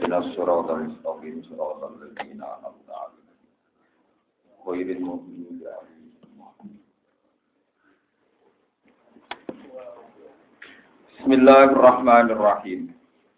ihdinas siratal mustaqim siratal ladzina an'amta 'alaihim ghairil maghdubi 'alaihim. Bismillahirrahmanirrahim.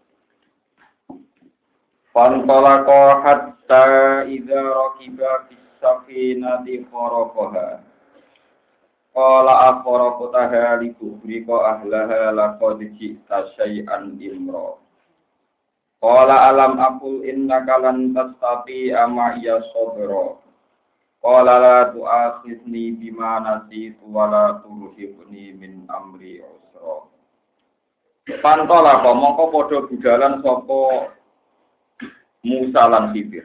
Fantalaqa hatta idza rakiba fis safinati kharaqaha. Qala akharaqtaha li tughriqa ahlaha laqad ji'ta syai'an imra. Qala alam aqul innaka lan tastati'a ma'iya sabra. Qala la tu'akhidni bima nasitu wa la turhibni min amri usra. Pantalaqa mongko padha budalan sapa Musa lan Khidir.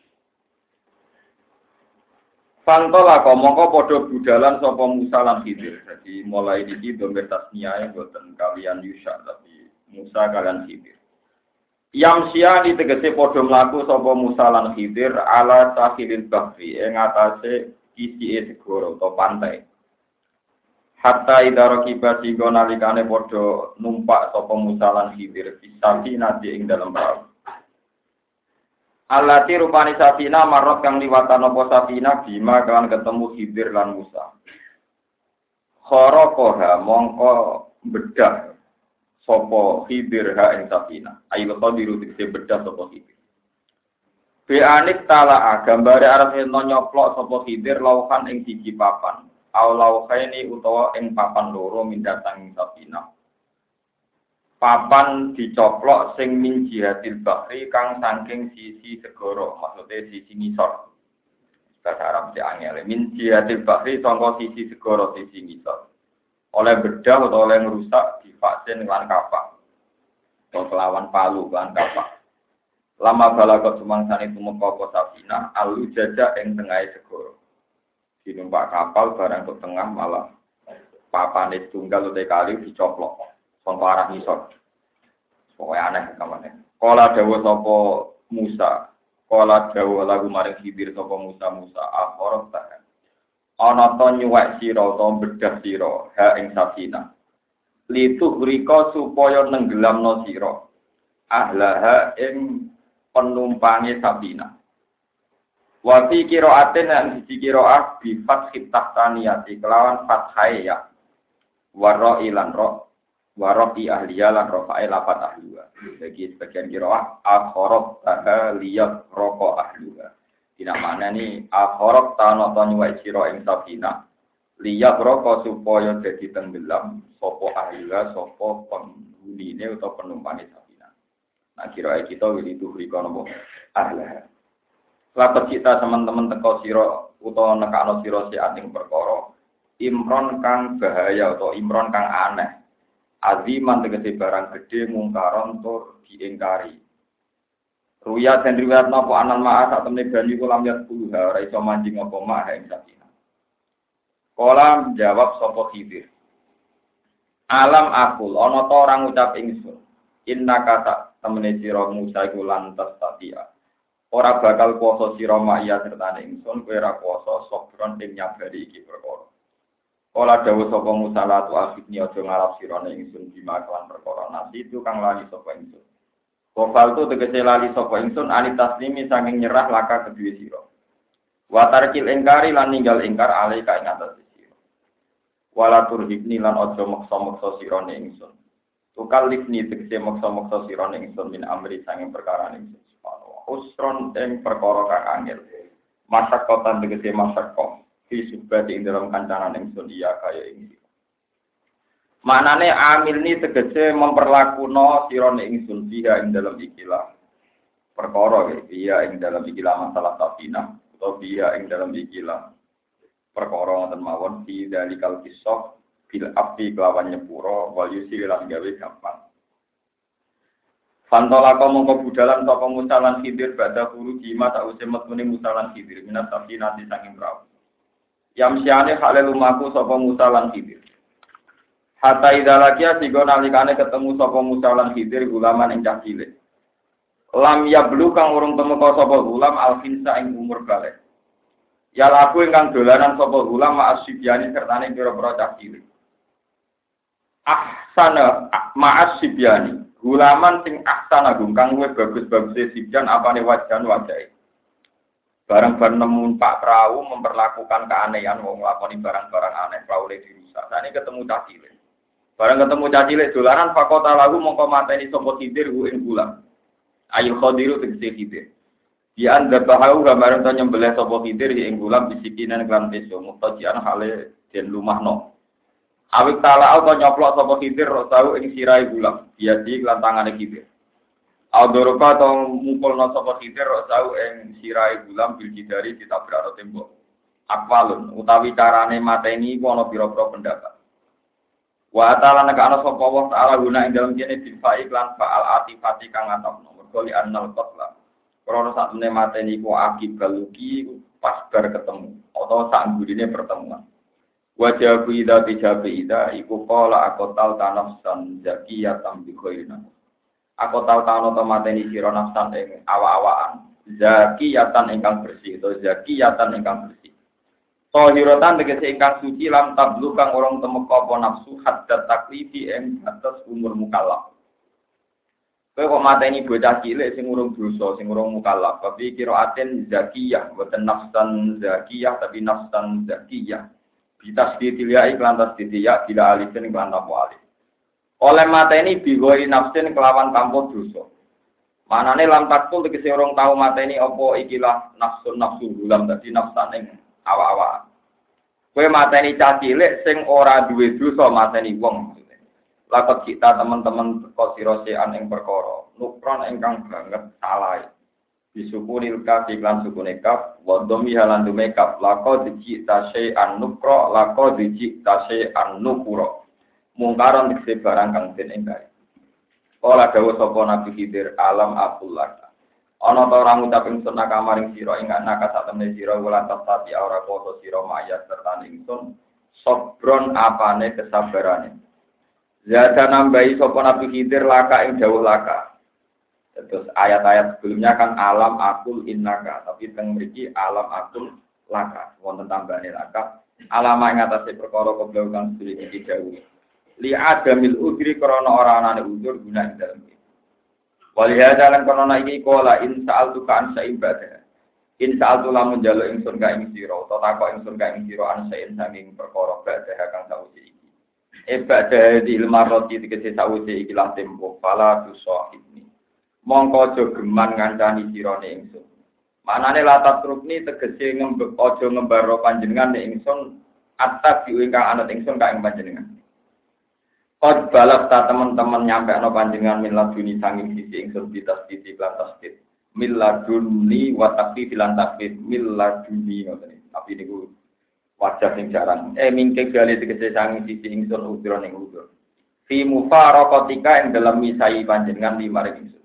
Pantalaqa mongko padha budalan sapa Musa lan Khidir. Jadi mulai iki domir tasniyae boten kalian Yusha tapi Musa kalian Khidir. Yamsia ditegese padha mlaku sapa Musa lan Khidir ala sahilil bahri ing atase isike segara utawa pantai. Hatta idza rakiba singgo nalikane padha numpak sapa Musa lan Khidir fisati nadi ing dalem perahu. Allati rupani safina marot kang liwatan apa safina bima kan ketemu Khidir lan Musa. Kharaqaha mongko bedah sapa Khidir ha ing safina. Ayo qadiru dikse bedah sapa Khidir. Beanik talaa gambare arep ento nyoplok sapa Khidir lauhan ing siji papan. Aw lauhaini utawa ing papan loro mindatang safina. Papan dicoplok sing min jihadil bahri kang saking sisi segara, maksudnya sisi ngisor. Bahasa Arab si angel. Min jihadil bahri sangka sisi segara, sisi ngisor. Oleh bedah atau oleh ngerusak divaksin lan kapak. Atau kelawan palu lan kapak. Lama balagot sumangsane tumeka apa safina, alu jajak ing tengahe segara. Dinumpak kapal barang ke tengah malah papane tunggal utek kali dicoplok. Sangka arah ngisor. Pokoke aneh kamane. Kala dawuh sapa Musa, kala dawuh lagu maring Khidir sapa Musa akhorok ta. Ana to nyuwek sira utawa bedah sira ha ing safina. Litu rika supaya nenggelamno sira. Ahlaha ing penumpange safina. Wa fi qira'atin lan siji qira'ah bi fathit tahtaniyati kelawan fathai ya. Wa ilan warofi ahliya lan rofa'i lapat ahliya. Jadi sebagian kiraah akhorok taha liyat roko ahliya. Dina mana ni akhorok tanoto nyuwai siro ing safina. Liyat roko supaya jadi tenggelam sopo ahliya sopo penghunine atau penumpangnya safina. Nah kiraah kita wili tuhriko nopo ahliya. Lapat kita teman-teman teko siro utawa nekano siro si ating perkara. Imron kang bahaya atau imron kang aneh. Aziman tegese barang gede mungkaron tur diingkari. Ruya den riwayat napa anan ma'a sak temne banyu kulam yat puluha ora iso manjing apa ma'a ing sakina. Kala jawab sapa Khidir. Alam akul ana ta orang ngucap ingsun. Inna kata temene sira Musa iku lantas tatia. Ora bakal kuasa sira ma'ya sertane ingsun kowe ora kuasa sobron ing nyabari iki perkara. Kala dawuh sapa Musa la tu akhidni aja ngarap sirane ingsun bima kelan perkara nasi itu kang lali sapa ingsun. Kofal tu tegese lali sapa ingsun ani taslimi saking nyerah laka kedue sira. Wa tarkil ingkari lan ninggal ingkar alai ka ing atas sira. Wala turhibni lan aja maksa-maksa sirane ingsun. Tukal lifni tegese maksa-maksa sirane ingsun min amri saking perkara ingsun. Subhanallah. Usron ing perkara kang angel. Masyakotan tegese masyakot. Fi subati ing dalam kancanan ingsun iya kaya ini. Manane amil ni tegese memperlakuno sirane ingsun dia ing dalam ikilah perkara iya ing dalam ikilah masalah safina atau dia ing dalam ikilah perkara ngoten mawon fi dalikal kisah bil api kelawan nyepuro wal yusil lan gawe gampang. Fantola mongko budalan sapa Musa lan Khidir badha guru jima sause metune Musa lan Khidir minat safina saking perahu. Yamsiane hale lumaku sapa Musa lan Khidir. Hatta idalakia sigo nalikane ketemu sapa Musa lan Khidir gulaman ing cah cilik. Lam yablu kang urung temeka sapa gulam alfinsa ing umur balik. Ya laku ingkang dolanan sapa gulam ma'asyibiyani sertane pira-pira cah cilik. Ahsana ma'asyibiyani. Gulaman sing ahsan agung kang luwih bagus-bagus sijan apane wajan wajahe. Barang-barang nemu Pak Perahu memperlakukan keanehan wong nglakoni barang-barang aneh perahu le dirusak. Sane ketemu cah cilik. Barang ketemu cah cilik dolanan fakota lagu mongko mateni sapa Khidir ku ing gulam. Ayu Khadiru tegese Khidir. Di anda baharu gambaran to nyembelih sapa Khidir ing gulam bisikinan kan peso mutajian hale den lumahno. Awik tala auto nyoplok sapa Khidir tau ing sirahe gulam. Biadi lan tangane Khidir. Audoroka to mungkulna sapa Khidir tau ing sirahe gulam bil jidari ditabrak tembok. Akwalun utawi carane mateni iku ana pira-pira pendapat. Wa ta'ala nek ana sapa Allah taala guna ing dalem kene dilfai lan fa'al atifati kang atapno. Mergo li annal qatla. Krana sak temene mateni iku akibal luki pas bar ketemu atau sak gurine pertemuan. Wajah ida bijabi ida iku qala aqtal tanafsan zakiyatan bi khairina. Aqtal tano to mateni sira nafsan ing awak-awakan zakiyatan ingkang bersih atau zakiyatan ingkang bersih. Tohirotan tegese ingkang suci lam tablu kang urung temeka apa nafsu haddat taklifi ing batas umur mukallaf. Kowe kok mateni bocah cilik sing urung dosa, sing urung mukallaf, tapi kiraaten zakiyah, boten nafsan zakiyah tapi nafsan zakiyah. Bitasdidilya iklan tasdidiyah bila alifin iklan apa alif. Oleh mateni bigoi nafsin kelawan tanpa dosa. Manane lam takul tegese urung tau mateni apa ikilah nafsu gulam dadi nafsan ing awak-awak. Kowe mateni cah cilik sing ora duwe dosa mateni wong. Lakot kita teman-teman teko sira sean ing perkara nukron ingkang banget salah. Disukunil kaf iklan sukune kaf wa dhammi halan dumekaf laqad jita syai'an nukra laqad jita syai'an nukura mungkaron dikse barang kang den enggae. Kala dawuh sapa Nabi Khidir alam Abdullah. Ana ta ora ngucap ingsun kamaring sira ing anak sak temne sira wulan tati ora koso sira mayat serta ingsun sobron apane kesabarane. Zada nambahi sapa Nabi Khidir laka ing dawuh laka. Terus ayat-ayat sebelumnya kan alam akul innaka, tapi teng mriki alam akul laka. Wonten tambahane laka. Alama ing atase perkara koblau kang sedherek iki dawuh. Li adamil udri krana ora anane udzur guna ing dalem. Walihada lan kono iki kola in sa'altu ka an sa'ibadah. In sa'altu lamun njaluk ingsun ka ing sira, utawa takok ingsun ka ing sira an sa'in saking perkara badah kang sawise iki. Ibadah di ilmaroti dikese sawise iki lan tempo fala tusahibni. Mongko aja geman ngancani sirane ingsun. Manane latat rukni tegese ngembek aja ngembaro panjenengan nek ingsun atas diingkang anut ingsun ka ing panjenengan. Qad balagh ta teman-teman nyampe ana panjenengan min laduni sanging sisi ingsun bitas sisi lan tasdid. Mil laduni wa taqdi lan tasdid mil laduni ngoten. Tapi niku wajah sing jarang. Mingke gale tegese sanging sisi ingsun udron ing udur. Fi mufaraqatika ing dalam misai panjenengan limaring ingsun.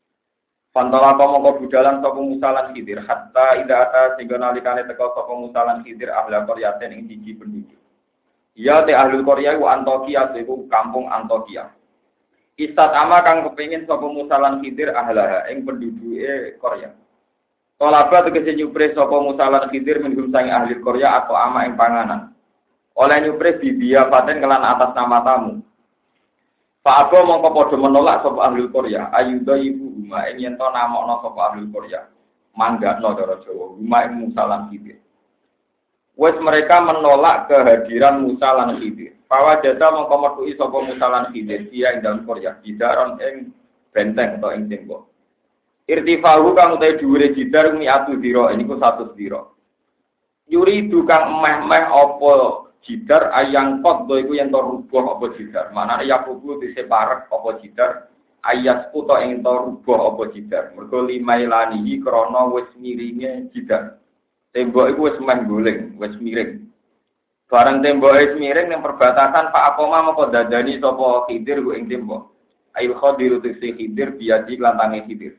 Pantala mongko budalan sapa musalan Khidir hatta ida ata sing nalikane teka sapa musalan Khidir ahla qaryatin ing siji penduduk. Ya te ahlul Korea ku Antokia iku kampung Antokia. Istatama kang kepengin sapa musalan Khidir ahlaha ing penduduke Korea. Tolaba tegese nyupres sapa musalan Khidir minggum sang ahli Korea atau ama ing panganan. Oleh nyupres bibia paten kelan atas nama tamu. Pak Abo mongko padha menolak sapa ahli Korea. Ayuda ibu huma ing yen to namokno sapa ahli Korea. Manggakno cara Jawa huma ing musalan Khidir. Wes mereka menolak kehadiran Musa lan Khidir. Pawajata mongko metuki sapa Musa lan Khidir dia ing dalem Korea. Bidaron ing benteng atau ing tembok. Irtifahu kang utahe dhuwure jidar mi'atu dira niku 100 dira. Yuri dukang emeh-emeh apa jidar ayang kot do iku yen to rubuh apa jidar. Manane yakubu diseparek apa jidar ayas puto ing to rubuh apa jidar. Mergo limailanihi krana wis miringe jidar. Tembok iku wis meh guling, wis miring. Barang tembok wis miring ning perbatasan Pak Akoma moko dadani sapa Khidir ku ing tembok. Ail Khadiru tiksi Khidir biadi lantange Khidir.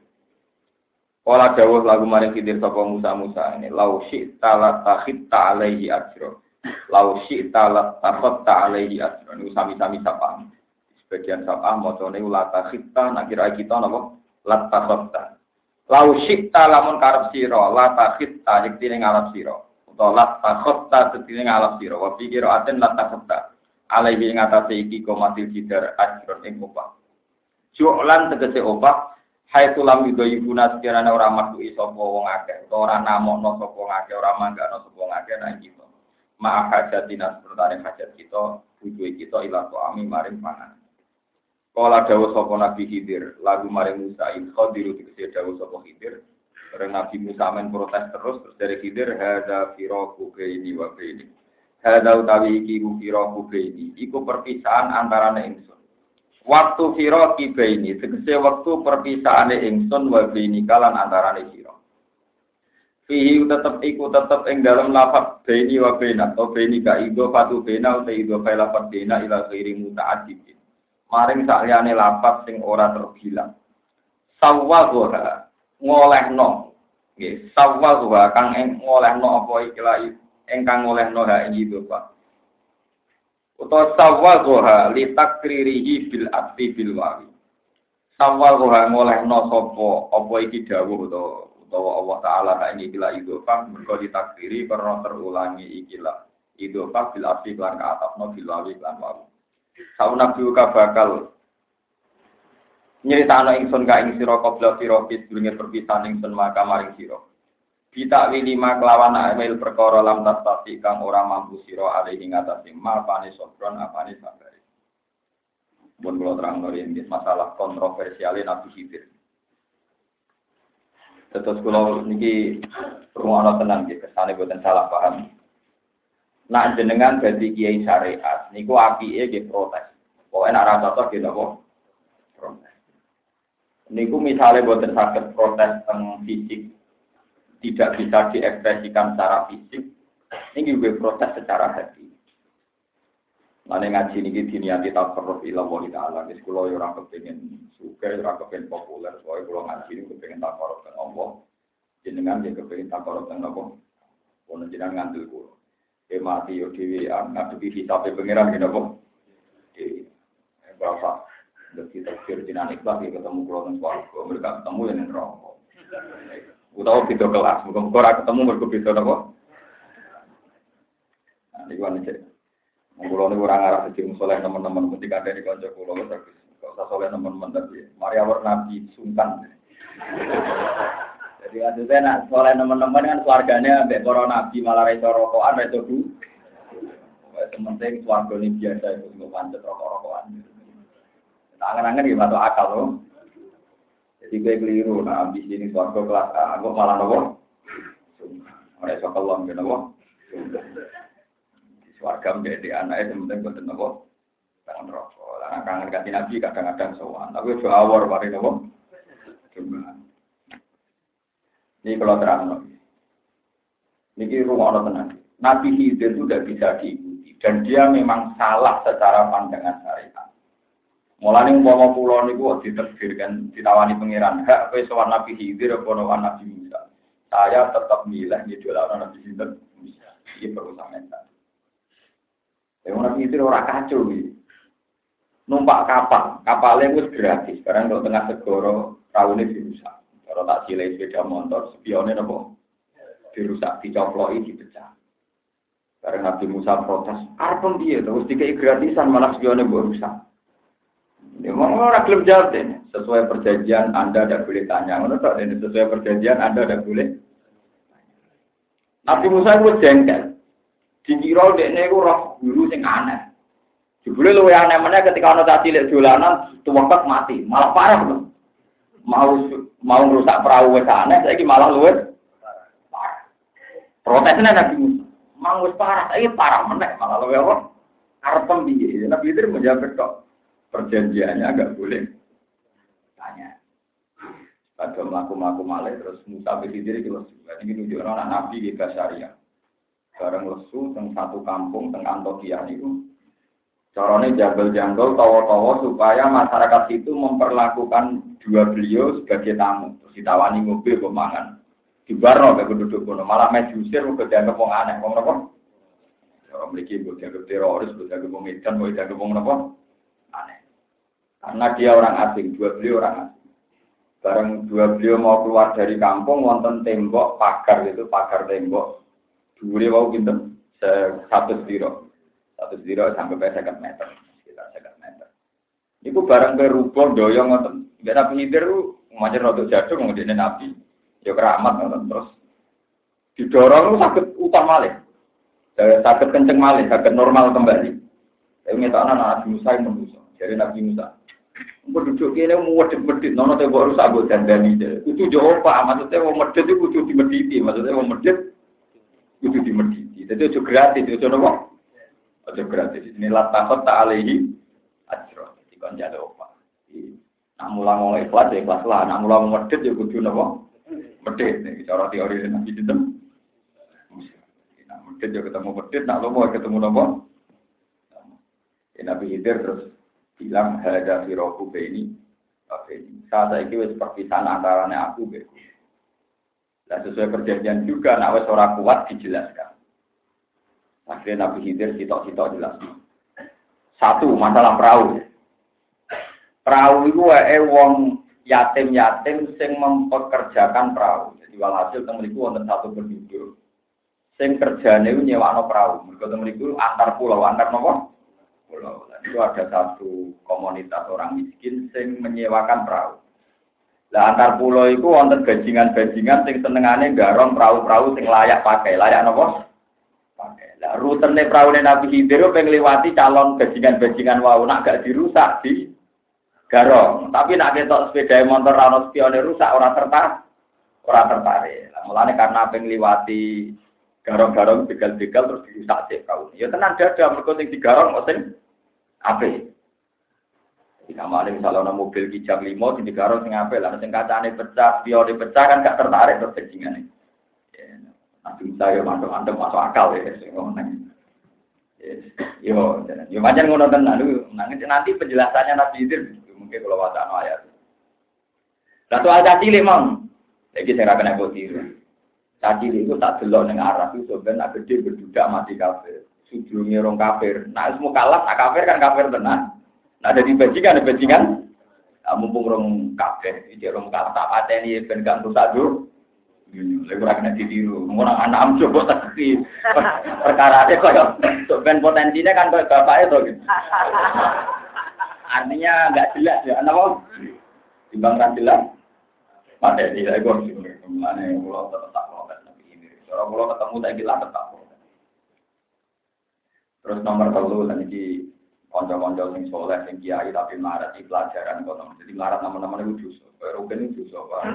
Kala dawuh lagu maring Khidir sapa Musa ini lau syi'ta la takhitta alaihi ajra. Lau syi'ta la takhatta alaihi ajra. Niku sami-sami sapa. Sebagian sapa macane la takhitta nak kira kita napa? La takhatta. Lau syi'ta lamun karep sira la takhitta yektine ngalap sira. Utawa la takhatta yektine ngalap sira. Wa pikir aten la takhatta alaihi ing atase iki komatil jidar ajra ing upah. Ju'lan tegese opah hai tulam yudo ibuna sekirane ora makui sapa wong akeh utawa ora namokno sapa wong akeh ora manggano sapa wong akeh nang kita. Ma hajatina sertane hajat kita, butuhe kita ila ami maring pangan. Kala dawuh sapa Nabi Khidir, lagu maring Musa in khadiru tegese dawuh sapa Khidir. Karena Nabi Musa men protes terus dari Khidir hadza firaku baini wa baini. Hadza utawi iki firaku baini, iku perpisahan antarane ingsun. Waktu firaqi baini tegese waktu perpisahane ingsun wa baini kalan antarane sira. Fihi tetep ing dalem lafaz baini wa baina atau baini ka ido fatu baina utawa ido fa lafaz baina ila ghairi muta'addid. Maring sakliyane lafaz sing ora terbilang. Sawwaha ngolehno. Nggih, sawwaha kang ngolehno apa ikilah ingkang ngolehno ha ing ido fa. Utawa sawwaha li takririhi bil atfi bil wawi. Sawwaha ngolehno sapa apa iki dawuh utawa Allah taala ha ing ikilah idhofah mergo ditakriri karena terulangi ikilah idhofah bil atfi lan atafno bil wawi lan wawi. Sauna biuka bakal nyritakno ingsun ka ing sira qabla firaqis durunge perpisahan ingsun maka maring sira. Kita wilima kelawan amil perkara lam tasati kang ora mampu sira ali ing atase mapane sobron apane sabare. Mun kula terangno yen masalah kontroversial Nabi Khidir. Terus kula niki rumono tenan nggih kesane boten salah paham. Nak jenengan dadi kiai syariat niku apike nggih protes. Pokoke nek ora cocok nggih napa? Protes. Niku misale boten saged protes teng fisik tidak bisa diekspresikan secara fisik, ini juga proses secara hati. Lalu ngaji ini diniati takarruf ila Allah Ta'ala. Jadi kalau orang kepengen suka, orang kepengen populer, soalnya kalau ngaji ini kepengen takarruf dengan Allah, jenengan dia kepengen takarruf dengan Allah. Kalau jenengan ngantil kulo, mati yo dewi, ngadepi hisabnya pengiran gitu kok. Berapa? Kita pikir jenengan ikhlas ketemu kulo dan suarga, mereka ketemu yang rokok. Utawa beda kelas, muga-muga ora ketemu mergo beda napa. Nah, niku ane cek. Kula niku ora ngarep dadi saleh teman-teman, mesti kandhani kanca kula wis bagus. Kok usah saleh teman-teman tapi mari awor nabi sungkan. Jadi maksudnya nak saleh teman-teman kan keluargane ambek para nabi malah ra iso rokokan, ra iso bu. Wes penting swargane biasa iku sing pancet rokok-rokokan. Tak angen-angen iki masuk akal lho. Jadi gue keliru, nah ambisi ini suarga kelas A, aku malah nopo. Oleh sokalom, gitu nopo. Suarga menjadi anaknya, sementing buatan nopo. Tangan rokok, karena kangen ganti nabi kadang-kadang sowan. Tapi itu awal, mari nopo. Ini kalau terang nopo. Ini rumah Allah tenang. Nabi Khidir itu tidak bisa diikuti. Dan dia memang salah secara pandangan syariat. Mulane umpama kula niku diterbirkan ditawani pangeran hak kowe sowan Nabi Khidir apa sowan Nabi Musa. Saya tetap milih ngidolakno Nabi Khidir Musa. Iki perlu sampeyan. Nabi Khidir ora kacau iki. Numpak kapale wis gratis. Sekarang kalau tengah segoro raune dirusak. Kalau tak cilik sepeda motor spione napa? Dirusak, dicoploki, dipecah. Karena Nabi Musa protes, arep piye terus dikai gratisan malah spione mbok rusak. Memang orang belum jawab deh. Sesuai perjanjian Anda tidak boleh tanya. Menurut ini sesuai perjanjian Anda tidak boleh. Nabi Musa itu jengkel. Dikira dekne iku roh guru sing aneh. Jebule luwih aneh meneh ketika ana caci cilik dolanan tuwekek mati, malah parah lho. Mau ngrusak perahu wis aneh, saiki malah luwih parah. Protesnya Nabi Musa, "Mang wis parah, saiki parah meneh, malah luwih apa? Arep piye?" Nabi itu menjawab tok. Perjanjiannya agak boleh tanya. Pada melaku-melaku malih terus Musa berdiri di lesu. Ini menunjukkan anak Nabi di Basaria. Bareng lesu teng satu kampung teng Antioquia itu. Caranya jambel-jambel tawa-tawa supaya masyarakat itu memperlakukan dua beliau sebagai tamu. Terus ditawani mobil pemangan. Dibarno ke penduduk kono malah mejusir uga dianggap wong aneh wong napa? Orang mriki uga dianggap teroris, uga dianggap wong edan, uga dianggap wong napa? Aneh. Karena dia orang asing, dua beliau orang asing. Bareng dua beliau mau keluar dari kampung, wonten tembok pagar itu, pagar tembok. Dhuwure wau pinten? 1 stiro. 1 stiro sampai 50 meter, sekitar 50 meter. Iku barang berubah doyong ngoten. Nek Nabi Khidir ku macam rodok jadung ngene Nabi. Ya keramat ngoten terus didorong sakit utang malih. Sakit kenceng malih, sakit normal kembali. Tapi ngetokno Nabi Musa yang manusa. Jadi Nabi Musa. Engko duduk kene medhit-medhit nono tembok rusak mbok dandani. Kudu yo apa? Maksudnya wong medhit iku kudu dimedhiti. Maksudnya wong medhit kudu dimedhiti. Dadi ojo gratis, ojo nopo? Ojo gratis. Ini latakot ta'alihi ajro. Dikon jale apa? Nak mulang oleh ikhlas ya ikhlas lah. Nak mulang medhit ya kudu nopo? Medhit. Nek cara teori Nabi itu. Nak medhit ya ketemu medhit, nak lomo ketemu nopo? Nabi Khidir terus bilang hada firoku baini saat ini wis perpisahan antaranya aku beku. Nah sesuai perjanjian juga nak wis ora kuat dijelaskan. Akhirnya Nabi Khidir sitok-sitok jelaskan. Satu masalah perahu. Perahu itu wong yatim-yatim sing mempekerjakan perahu. Jadi walhasil teng mriku wonten satu penduduk sing kerjane nyewakno perahu. Mergo teng mriku antar pulau, antar napa? Pulau. Itu ada satu komunitas orang miskin yang menyewakan perahu. Lah antar pulau itu wonten bajingan-bajingan sing senengane garong perahu-perahu sing layak pakai. Layak napa? Pakai. Lah rutene praune Nabi Khidir pengen liwati calon bajingan-bajingan wau nak gak dirusak di garong. Tapi nak ketok sepeda motor ana spione rusak ora tertarik. Lah mulane karena pengen liwati garong-garong begal-begal terus dirusak sih perahu. Ya tenan dada mergo sing digarong kok sing apik. Jika malah misalnya ada mobil kijang 5 di digarong sing apik lah sing kacane pecah, spione pecah kan gak tertarik terus bajingane. Ya, nanti saya masuk akal ya sing ngono. Yo macam ngono tenan nanti penjelasannya Nabi Khidir mungkin kalau wacana ayat. Lah soal caci lemong. Iki sing ra kena tiru. Caci itu tak delok ning Arab itu ben nak gede berdudak mati kafir. Sujudnya orang kafir. Nah, semua kalah, nak kafir kan kafir tenan. Nah, jadi bajingan. Mumpung orang kafir, jadi orang kalah tak ada ni ben gak rusak dulu. Lagi orang kena ditiru. Orang anak am coba tak kiri. Perkara ada kau ben potensinya kan kau bapak itu. Artinya nggak jelas ya. Kenapa? Timbang kan jelas. Pada ini saya kau sih. Mana yang pulau tetap protes nabi ini. Orang pulau ketemu tak gila tetap. Terus nomor 3 lan iki kanca-kanca sing saleh sing kiai tapi marat di pelajaran kok. Jadi marat teman-teman itu dosa. Rugen itu dosa.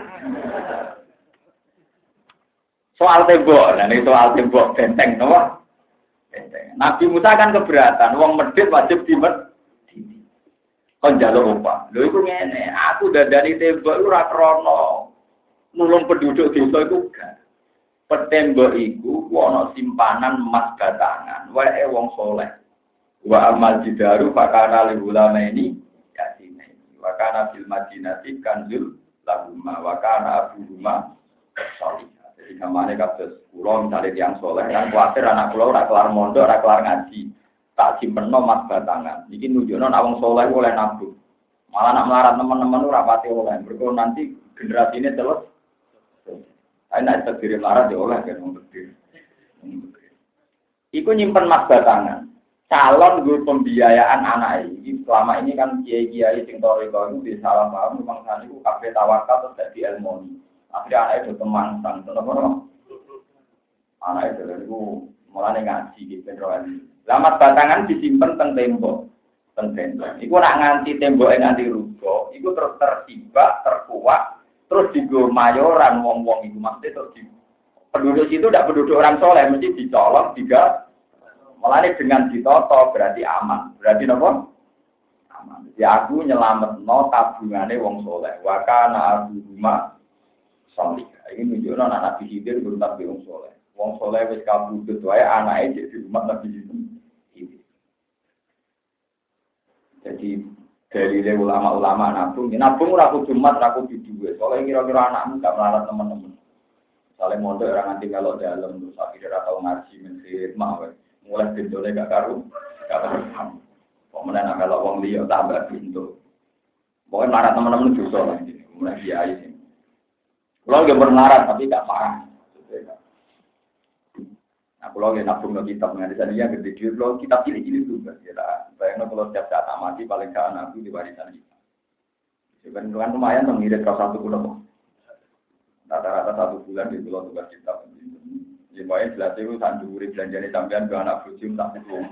Soal tembok, nah ini soal tembok benteng napa? Benteng. Nabi Musa kan keberatan, wong medhit wajib dimedhiti. Kon njaluk apa? Lho iku ngene, aku dadani tembok iku ora krana nulung penduduk desa iku gak. Petembok iku ana simpanan emas batangan, wae wong saleh. Wa amal jidaru fakana lil ulama ini yasine. Wa kana fil madinati kanzul lahumma wa kana abuhuma salih. Jadi kamane kados kula misale tiyang saleh kan kuwatir anak kula ora kelar mondok, ora kelar ngaji. Tak simpenno emas batangan. Iki nunjukno nek wong saleh oleh nabung. Malah nak melarat teman-teman ora pati oleh. Mergo nanti generasine terus ana terdiri larat ya oleh kan wong gede. Iku nyimpen mas batangan. Calon guru pembiayaan anak ini selama ini kan kiai-kiai sing toriko itu salah paham memang sana itu kabeh tawakal terus dadi ilmu. Akhirnya anak itu kemangsang tenan-tenan. Anak itu mulane ngaji gitu beneran. Lamat batangan disimpen teng tembok. Iku nak nganti temboke nganti rubuh, iku terus tersibak, terkuak. Terus digo mayoran wong-wong itu maksudnya terus di penduduk itu tidak penduduk orang soleh mesti dicolok juga malah dengan ditoto berarti aman berarti apa aman jadi aku nyelametno tabungane wong soleh wakana abu rumah soleh ini menunjukkan anak Nabi Khidir belum tapi wong soleh wis kabudut wae anake jadi rumah Nabi Khidir jadi dari ulama-ulama nabung ora kudu mat, ora kudu duwe. Soale kira-kira anakmu gak melarat teman-teman. Soale mondok ora nganti melok dalem terus akhire ora tau ngaji mensit mawon. Mulai bendone gak karu. Kok menawa kalau wong liya tambah pintu. Pokoke melarat teman-teman dosa lah iki. Mulai kiai sing. Kulo ge melarat tapi gak parah. Nah, kalau nggak nabung no kitab mengenai sana gede duit, kalau kitab cilik-cilik juga. Ya, bayangno kalau setiap saat mati paling gak anakku di warisan kita. Sebenarnya lumayan mengirit kau satu pulau. Rata-rata 1 bulan di pulau tugas kitab. Ya, pokoknya jelas itu sanduri belanjanya sampean ke anak bujuk tak cukup.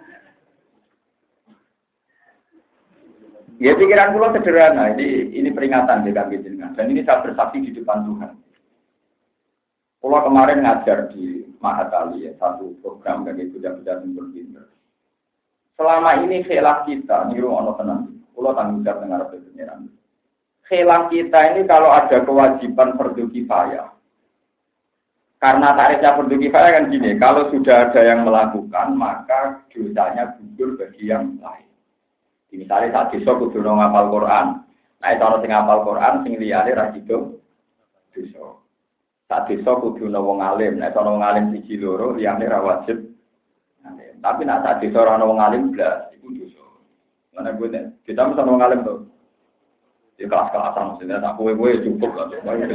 Ya pikiran pulau sederhana, ini peringatan di kami jenengan. Dan ini saya bersaksi di depan Tuhan. Pulau kemarin ngajar di Mahatali ya, satu program bagi budak-budak yang pinter. Selama ini khilaf kita, niru ono tenang. Pulau tanggung jawab dengar pengiran. Khilaf kita ini kalau ada kewajiban fardu kifayah. Karena tarifnya fardu kifayah kan gini, kalau sudah ada yang melakukan, maka dosanya gugur bagi yang lain. Misalnya saat desa kudu ngapal Quran. Nah, itu ana sing ngapal Quran sing liyane ra sido desa. Saat desa kudu wong alim. Nah, ana wong alim siji loro liyane ra wajib. Tapi nek saat desa ora ana wong alim blas iku dosa. Mana gue nek kita mesti wong alim to. Di kelas-kelasan maksudnya tak kowe-kowe cukup lah.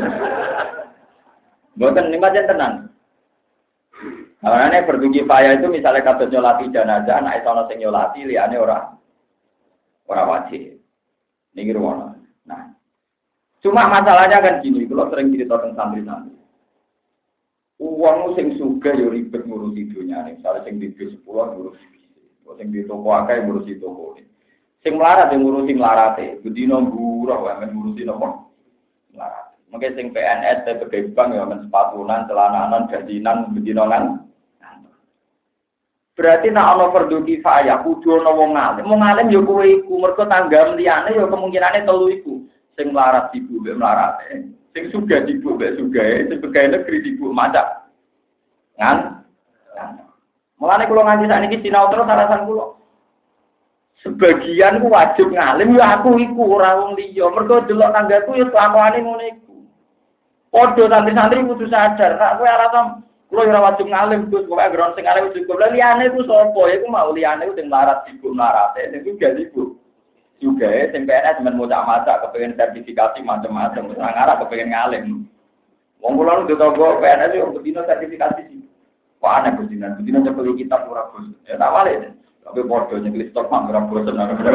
Mboten ning pancen tenan. Karena fardu kifayah itu misalnya kados nyolati jenazah, nek ana sing nyolati liyane ora wajib. Ini ruang. Nah, cuma masalahnya kan gini, kalau sering cerita tentang santri-santri. Uang sing suga yo ribet ngurusi dunia nih. Misalnya sing di bis 10 ngurusi bis, sing di toko akeh ngurusi toko ini. Sing melarat yang ngurusi melarate, bedino buruh wae ngurusi nopo melarat. Mungkin sing PNS pegawai bank ya men sepatunan, celananan, gajinan, bedinonan. Berarti nak ana fardu kifayah kudu ana wong alim. Wong alim ya kowe iku, mergo tanggam liyane ya kemungkinane telu iku. Sing melarat ibu mbek melarate, sing sugih ibu mbek sugahe, sing pegawai negeri ibu macak. Kan? Mulane kula nganti sakniki sinau terus alasan kula. Sebagian ku wajib ngalim ya aku iku ora wong liya. Mergo delok tanggaku ya kelakuane ngono iku. Padha santri-santri kudu sadar, nek kowe alasan kulo ora wajib ngalim Gus, pokoke ground sing arep cukup. Lah liyane ku sapa? Iku mau liyane ku sing larat ibu larate, sing juga ibu. Juga sing PNS men maca-maca kepengin sertifikasi macam-macam, wis ngarep kepengin ngalim. Wong kula nu ditonggo PNS yo bedino sertifikasi sih. Wah ana bedino cepet kitab ora bos. Ya tak wale. Tapi padha nyeklis stok mak ora bosen.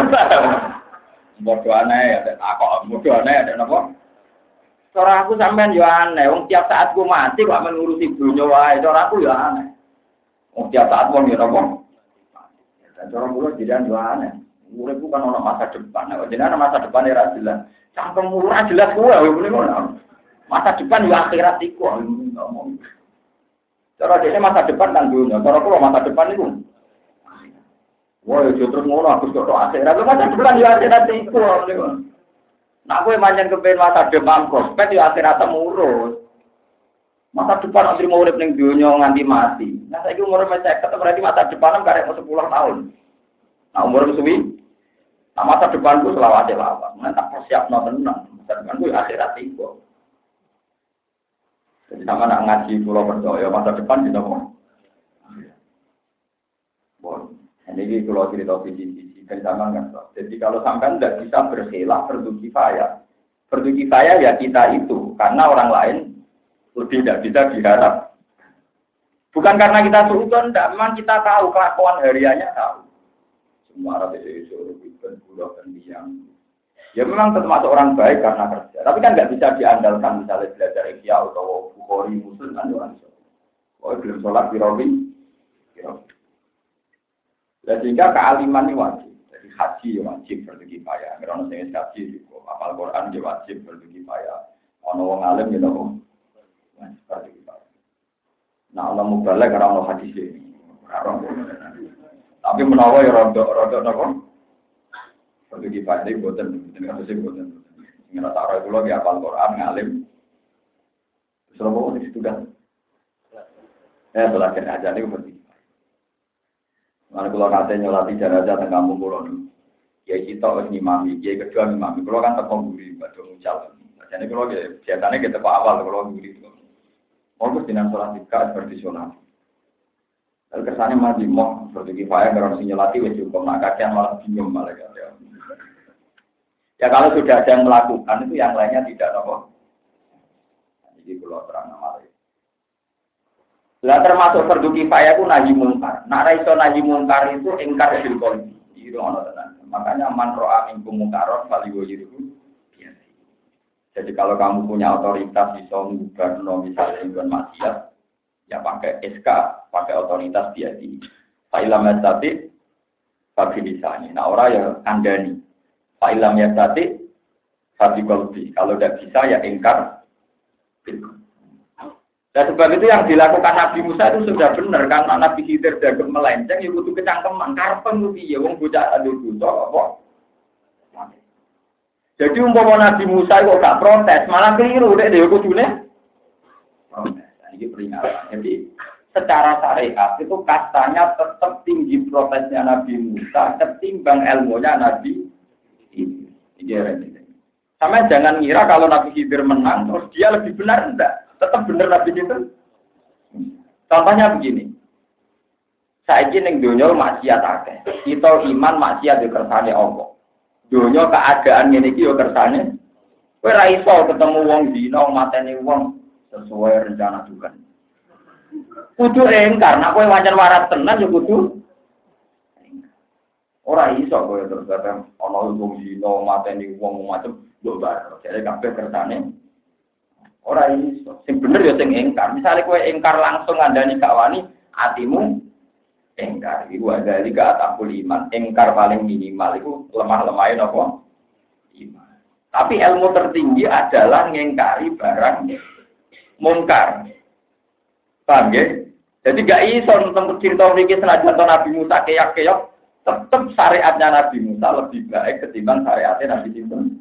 Padha aneh ya kok padha aneh ada napa? Cara aku sampean yo aneh, wong tiap saat ku mati kok ngurusi dunya wae, cara aku yo aneh. Wong tiap saat wong yo napa? Dan cara kula jiran yo aneh. Urip ku kan ono masa depan, nek jenengan masa depan ora jelas. Cangkem ora jelas kuwi ngene ngono. Masa depan yo akhirat iku ngomong. Cara dene masa depan kan dunya, cara kula masa depan iku. Wah, yo terus ngono aku kok akhirat, masa depan yo akhirat iku ngene. Nah, kowe manjen kepen masa depan prospek ya akhirat urus. Masa depan nanti mau urip ning donya nganti mati. Nah, saiki umur 50 berarti masa depan karek 10 tahun. Nah, umur suwi. Nah, masa depanku selawase lawan. Nah, tak persiapno tenan. Masa depanku ya akhirat iku. Jadi sama nak ngaji kula percaya masa depan bisa kok. Bon, ini kalau cerita visi kan sama kan. Jadi kalau sampai tidak bisa berkhilaf fardu kifayah. Fardu kifayah ya kita itu, karena orang lain lebih tidak bisa diharap. Bukan karena kita suudon, memang kita tahu kelakuan hariannya tahu. Semua orang itu bukan budak dan biang. Ya memang termasuk orang baik karena kerja. Tapi kan nggak bisa diandalkan misalnya belajar Ihya atau Bukhari Muslim kan orang itu. Oh belum sholat di sehingga kealiman ini wajib. Jadi haji ya wajib fardu kifayah. Karena saya haji juga hafal Quran ya wajib fardu kifayah. Ono wong alim ya nopo fardu kifayah. Nah, Allah mubalek karena Allah hadis ini. Tapi menawa ya rodok nopo fardu kifayah ini boten harus boten. Ngerasa ora kula ya hafal Quran ngalim. Selama ini sudah. Belajar aja nih fardu. Mana kalau katanya nyolati jenazah tengah kampung pulau ni, ya kita harus ngimami, ya kedua ngimami. Kalau kan tekong guri, batu mucal. Jadi kalau biasanya kita pak awal kalau guri itu, mau dengan sholat tiga seperti sholat. Lalu kesannya masih mau seperti kifayah kalau si nyolati wes cukup, nak kajian malah bingung malah kata. Ya kalau sudah ada yang melakukan itu yang lainnya tidak nopo. Jadi kalau terang nama. Lah termasuk fardu kifayah ku nahi mungkar. Nek ra iso nahi mungkar itu ingkar bil qalbi. Itu ono tenan. Makanya man ro'a minkum mungkaron falyughayyirhu bihi. Jadi kalau kamu punya otoritas iso ngubarno misalnya ingkar maksiat, ya pakai SK, pakai otoritas biadi. Fa'ilam yastati fabilisani. Nah orang ya kandani. Fa'ilam yastati fabiqalbi. Kalau tidak bisa ya ingkar. Dan sebab itu yang dilakukan Nabi Musa itu sudah benar karena Nabi Khidir dagem melenceng ya kudu kecangkeman karepen ku piye wong bocah adu dosa apa. Jadi umpama Nabi Musa kok gak protes malah keliru nek dhewe kudune protes. Ini peringatan. Jadi secara syariat itu kastanya tetap tinggi protesnya Nabi Musa ketimbang ilmunya Nabi Khidir. Sama jangan ngira kalau Nabi Khidir menang terus dia lebih benar enggak. Tetap bener Nabi itu. Contohnya begini. Saiki ning donya maksiat akeh. Kita iman maksiat yo kersane Allah. Donya keadaan ngene iki yo kersane. Kowe ra iso ketemu wong zina mateni wong sesuai rencana Tuhan. Kudu engkar, nek kowe wancen waras tenan yo kudu ora iso kowe terus ana wong zina mateni wong macam yo bar. Jadi kabeh kersane ora iso. Sing bener ya sing engkar. Misale kowe engkar langsung ngandani gak wani, atimu engkar. Iku ada liga atakul iman. Engkar paling minimal iku lemah-lemahin apa? Iman. Tapi ilmu tertinggi adalah ngengkari barang mungkar. Paham ya? Jadi gak iso tentang cerita mriki senajan Nabi Musa keyak-keyak, tetep syariatnya Nabi Musa lebih baik ketimbang syariatnya Nabi Sinten.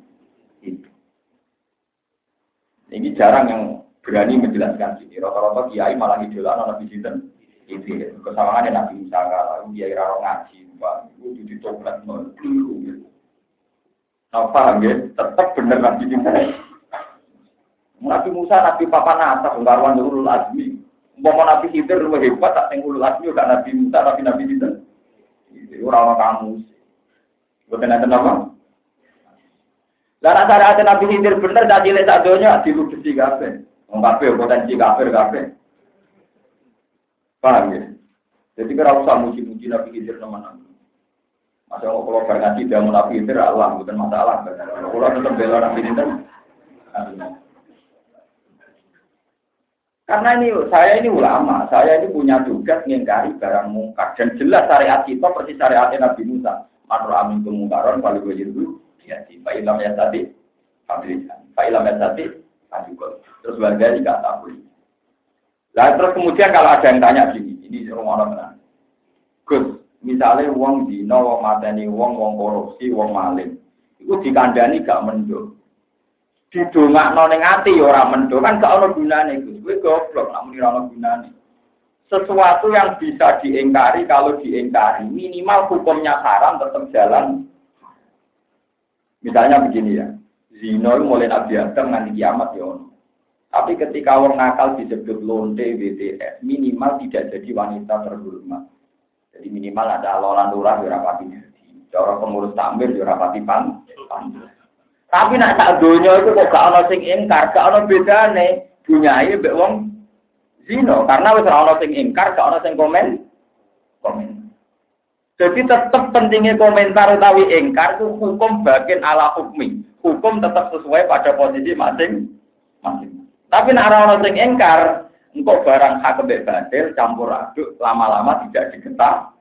Ini jarang yang berani menjelaskan sini. Rata-rata kiai malah idolana Nabi Sinten. Ini kesalahannya Nabi Musa kalau kiai raro ngaji, Pak. Itu ditoplet meliru. Nah, paham ya? Tetap benar Nabi Sinten. Nabi Musa, Nabi Papan atas, ungkaran ulul azmi. Umpama Nabi Khidir lebih hebat, tak ulul azmi, udah Nabi Musa, tapi Nabi Sinten. Itu orang kamu. Bukan ada nama. Dan antara ada Nabi Khidir bener tak cilik sadonya diludesi kabeh. Wong kabeh potensi kafir kabeh. Paham ya? Jadi kira usah muji-muji Nabi Khidir teman-teman. Masa kalau berkati dia Nabi Khidir Allah bukan masalah. Kalau tetap bela Nabi Khidir. Karena saya ini ulama, saya ini punya tugas mengingkari barang mungkar dan jelas syariat kita persis syariatnya Nabi Musa. Manur amin kemungkaran paling wajib ya, Pak Ilham ya tadi, Pak Ilham ya tadi, terus warga juga tahu. Lah terus kemudian kalau ada yang tanya gini, ini orang benar. Gus, misalnya uang dino, uang mateni, uang korupsi, uang maling, itu dikandani gak mendo. Didongak noneng ati orang mendo kan gak ono gunane Gus. Kowe goblok nak muni ora ono gunane. Sesuatu yang bisa diingkari kalau diingkari minimal hukumnya haram tetap jalan. Misalnya begini ya, zina mulai Nabi Adam nganti kiamat ya. Tapi ketika orang nakal disebut lonte BTS, minimal tidak jadi wanita terhormat. Jadi minimal ada lolan lurah ya rapati jadi. Cara pengurus takmir ya rapati pan. Tapi nak sak donya itu kok gak ana sing ingkar, gak ana bedane dunyae mbek wong zina, karena wis ora ana sing ingkar, gak ana sing komen. Jadi tetap pentingnya komentar utawi ingkar itu hukum bagian ala hukmi. Hukum tetap sesuai pada posisi masing-masing. Tapi nek ora ono sing ingkar, engko barang hak mbek batil campur aduk, lama-lama tidak digetah.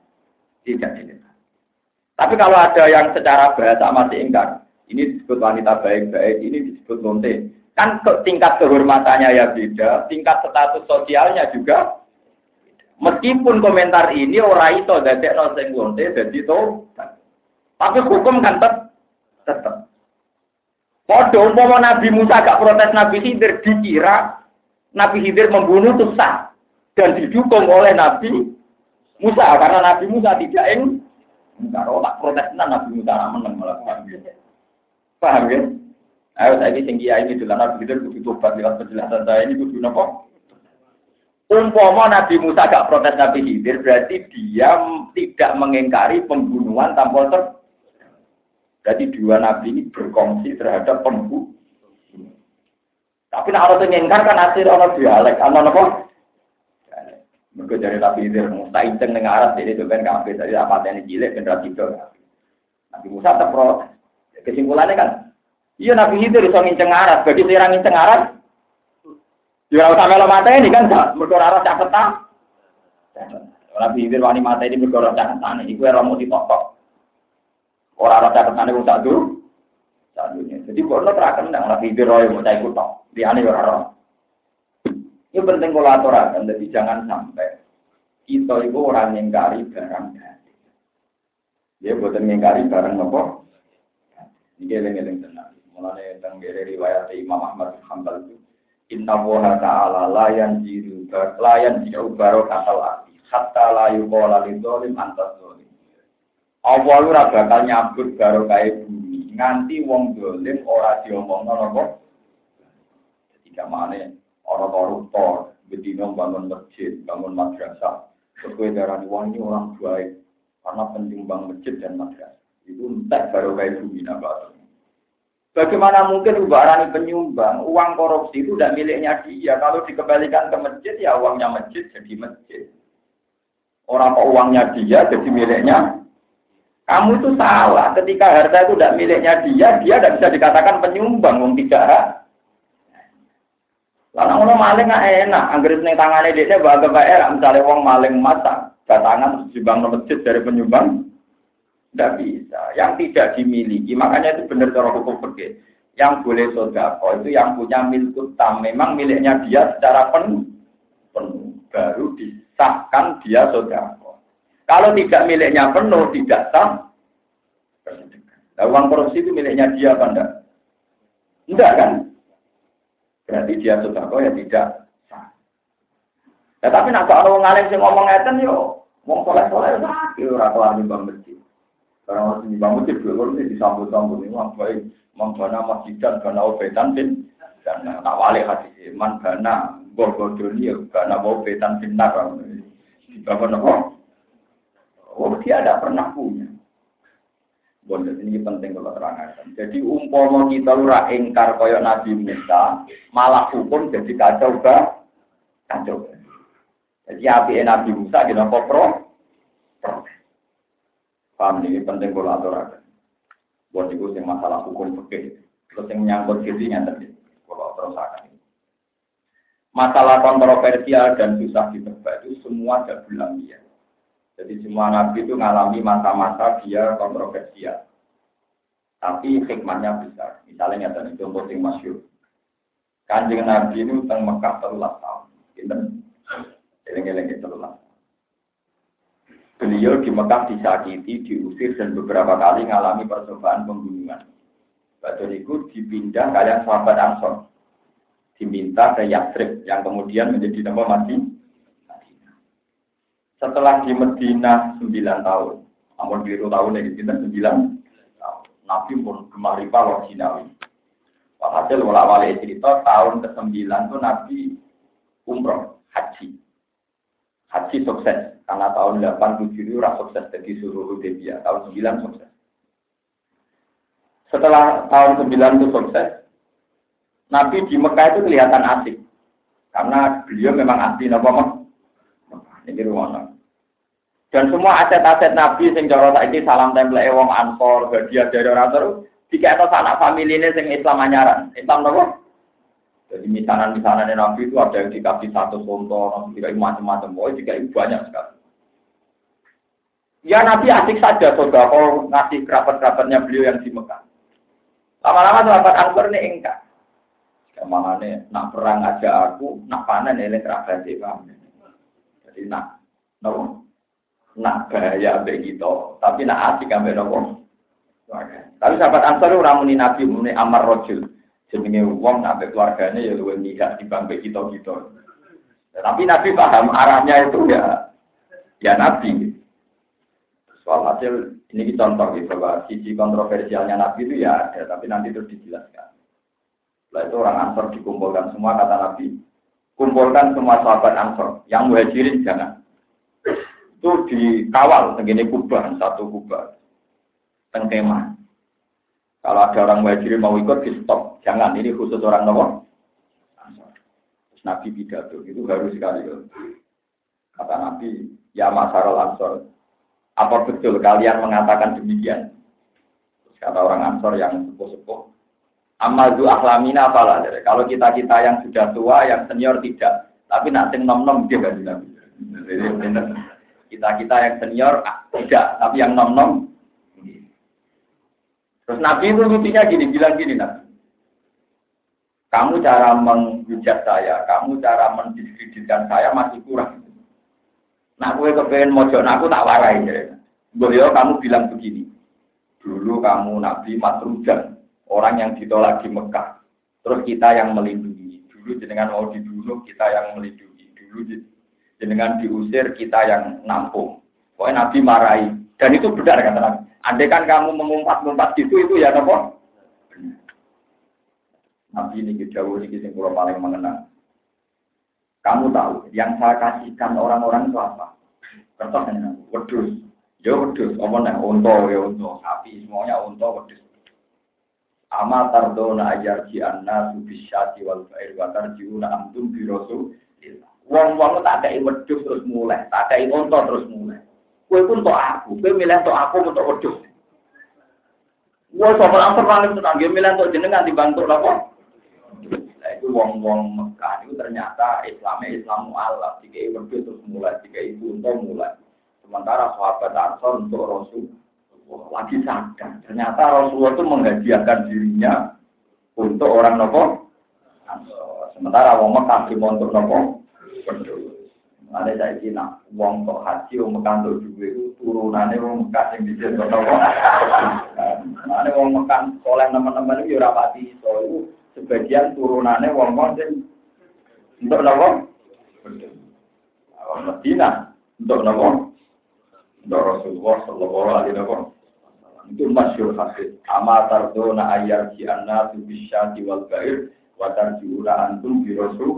Tapi kalau ada yang secara bahasa masih ingkar, ini disebut wanita baik-baik, ini disebut lonte. Kan tingkat kehormatannya ya beda, tingkat status sosialnya juga. Meskipun komentar ini ora iso dadekno sing lonte dadi tobat. Tapi hukum kan tetep. Padha umpama Nabi Musa gak protes Nabi Khidir dikira Nabi Khidir membunuh itu sah dan didukung oleh Nabi Musa karena Nabi Musa tidak kalau tak protes Nabi Musa ra meneng melakukan. Paham ya? Ayo saiki sing kiai iki dolan Nabi Khidir kudu tobat lewat penjelasan saya ini kudu napa? Umpama Nabi Musa gak protes Nabi Khidir, berarti dia tidak mengingkari pembunuhan tanpa berarti dua Nabi ini berkongsi terhadap pembunuh. Tapi nak harus mengingkar kan asir orang dialek, apa? Mergo jare Nabi Khidir mustahil teng ning arat dene sampean kabeh tadi apa tene cilik ben ra tidur. Nabi Musa tak protes. Kesimpulannya kan, iya Nabi Khidir iso nginceng arat, bagi sira nginceng arat. Ya ora usah melo mateni kan, mergo ora cak petang. Nabi Khidir wani mateni mergo ora cak petane, iku ora mau ditok. Ora ora cak petane wong sak dur. Sadunya. Jadi bono terakan nang Nabi Khidir royo mau cah ikut tok. Liyane ora ora. Ini penting kalau aturakan, jadi jangan sampai kita itu orang yang ngingkari barang gaib. Dia buatan ngingkari barang apa? Ini geleng-geleng tenang. Mulanya tentang riwayat Imam Ahmad bin Hanbal itu, Inna Allaha ta'ala layan jiru barokatal arti, hatta la yuqala lidzolim antas zolim. Allah ora bakal nyabut barokah bumi, nganti wong dolim ora diomongno napa? Jadi kamane orang koruptor, bedino bangun masjid, bangun madrasah. Sesuai darah ini orang baik, karena penyumbang masjid dan madrasah. Itu entah baru kayak bumi nabat. Bagaimana mungkin ubarani penyumbang, uang korupsi itu tidak miliknya dia. Kalau dikembalikan ke masjid, ya uangnya masjid jadi masjid. Orang kok uangnya dia jadi miliknya. Kamu itu salah. Ketika harta itu tidak miliknya dia tidak bisa dikatakan penyumbang, wong tidak. Karena orang maling nggak enak, anggeris neng tangannya dia bahagia enak. Misalnya orang maling mata, datangan sumbang masjid dari penyumbang, tidak bisa. Yang tidak dimiliki, makanya itu benar cara hukum fikih. Yang boleh sodako itu yang punya milkut tam, memang miliknya dia secara penuh, baru disahkan dia sodako. Kalau tidak miliknya penuh, tidak sah. Nah, uang korupsi itu miliknya dia apa enggak? Enggak kan? Berarti dia sodako ya tidak sah. Ya, tapi nak kalau ngalim sih ngomong ngeten yo, ngomong soleh-soleh sakit ora kelar nyumbang masjid. Karena masih nyumbang masjid dulu ini disambut-sambut ini wah baik membana masjid dan bana obetan bin dan tak wali hadis man bana bodoni ya bana obetan bin nar. Di bawah nopo. Oh dia ada pernah punya. Bonus ini penting kalau terangkan. Jadi umpama kita ora ingkar koyok Nabi Musa, malah hukum jadi kacau ba, kacau. Jadi api Nabi Musa kita pro. Paham ini penting kalau terangkan. Buat itu yang masalah hukum fikih, terus yang menyangkut dirinya tadi, kalau terangkan. Masalah kontroversial dan susah ditebak itu semua ada bulan dia. Jadi semua nabi itu mengalami masa-masa dia kontroversial. Tapi hikmahnya besar. Misalnya ada contoh yang masyhur. Kanjeng Nabi itu teng Mekah 13 tahun. Pinten? Eleng-eleng 13 tahun. Beliau di Mekah disakiti, diusir dan beberapa kali mengalami percobaan pembunuhan. Badan itu dipindah kalian sahabat Ansor. Diminta ke Yatsrib yang kemudian menjadi nama mati. Setelah di Madinah 9 tahun, namun biru tahun yang kita 9 tahun, Nabi pun gemar rival Sinawi. Walhasil wala-wali cerita tahun ke-9 itu Nabi umroh, haji. Haji sukses, karena tahun 8-7 itu sukses, jadi suruh Hudaybiyah, tahun 9 sukses. Setelah tahun 9 itu sukses, Nabi di Mekah itu kelihatan asik, karena beliau memang asli Nabi. Ini ruangan. Dan semua aset-aset Nabi sing cara saiki salam tempel wong Ansor, hadiah dari orang terus dikekno sanak familine sing Islam anyaran. Islam napa? Jadi misanan-misanan Nabi itu ada yang dikasih 1 contoh, dikasih macam-macam, dikasih banyak sekali. Ya Nabi asik saja saudara kalau ngasih kerabat-kerabatnya beliau yang di Mekah. Lama-lama sahabat Ansor ini enggak. Kemana nak perang aja aku, nak panen elek kerabat kami. Jadi nak bahaya begitu, tapi nak asik ambil nopo. Tapi sahabat Ansor itu ramuni Nabi, muni Amar Rojul, jenenge wong sampai keluarganya ya luwih nikah di bangke gitu. Tapi Nabi paham arahnya itu ya Nabi. Soal hasil ini contoh gitu bahwa sisi kontroversialnya Nabi itu ya ada, tapi nanti terus dijelaskan. Setelah itu orang Ansor dikumpulkan semua kata Nabi, kumpulkan semua sahabat Ansor, yang muhajirin jangan. Itu dikawal segini kubah, 1 kubah tengkemah. Kalau ada orang muhajirin mau ikut di stop, jangan, ini khusus orang nomor. Terus Nabi pidato itu harus sekali. Kata Nabi, ya Masyarul Ansor, apa betul kalian mengatakan demikian? Terus kata orang Ansor yang sepuh-sepuh, Amadu aklamina apalah. Kalau kita yang sudah tua, yang senior tidak. Tapi nak sing nom-nom dia kan Nabi. Kita yang senior tidak, tapi yang nom-nom. Terus Nabi itu lucunya gini, bilang gini Nabi. Kamu cara menghujat saya, kamu cara mendiskreditkan saya masih kurang. Nah, gue kepengen mojok, aku tak warai. Beliau kamu bilang begini. Dulu kamu Nabi Matrujan, orang yang ditolak di Mekah. Terus kita yang melindungi. Dulu jenengan mau dibunuh, kita yang melindungi. Dulu jenengan diusir, kita yang nampung. Pokoknya Nabi marahi. Dan itu benar kata Nabi. Andai kan kamu mengumpat-ngumpat gitu, itu ya apa? Nabi ini jauh ini yang paling mengenang. Kamu tahu, yang saya kasihkan orang-orang itu apa? Kertas ini, wedus. Ya wedus, omongnya unta, ya unta. Sapi, semuanya unta, wedus. Ama tardona ajar ji'anna subisyati wal fa'ir wa tarji'una amtum birosu. Wong-wong tak ada wedus terus mulai, tak ada unta terus mulai. Kue pun untuk aku, kue milih untuk aku untuk wedus. Kue soal paling tenang, dia milih untuk jenengan dibantu apa? Nah itu wong-wong Mekah itu ternyata Islam mu'alaf. Jika wedus terus mulai, jika itu unta mulai. Sementara sahabat Ansor untuk Rasul lagi sadar. Ternyata Rasulullah itu menghadiahkan dirinya untuk orang nopo. Sementara wong Mekah di untuk nopo. Ada saya kira wong kok haji wong Mekah untuk juga itu turunannya wong Mekah yang bisa nopo. Ada wong Mekah oleh teman-teman itu rapati itu sebagian turunannya wong yang untuk nopo. Medina untuk nopo. Untuk Rasulullah Sallallahu Alaihi Wasallam itu masyhur hadis. Amatar dona ayar jianna bisyati wal gair watar jiura antum bi Rasul.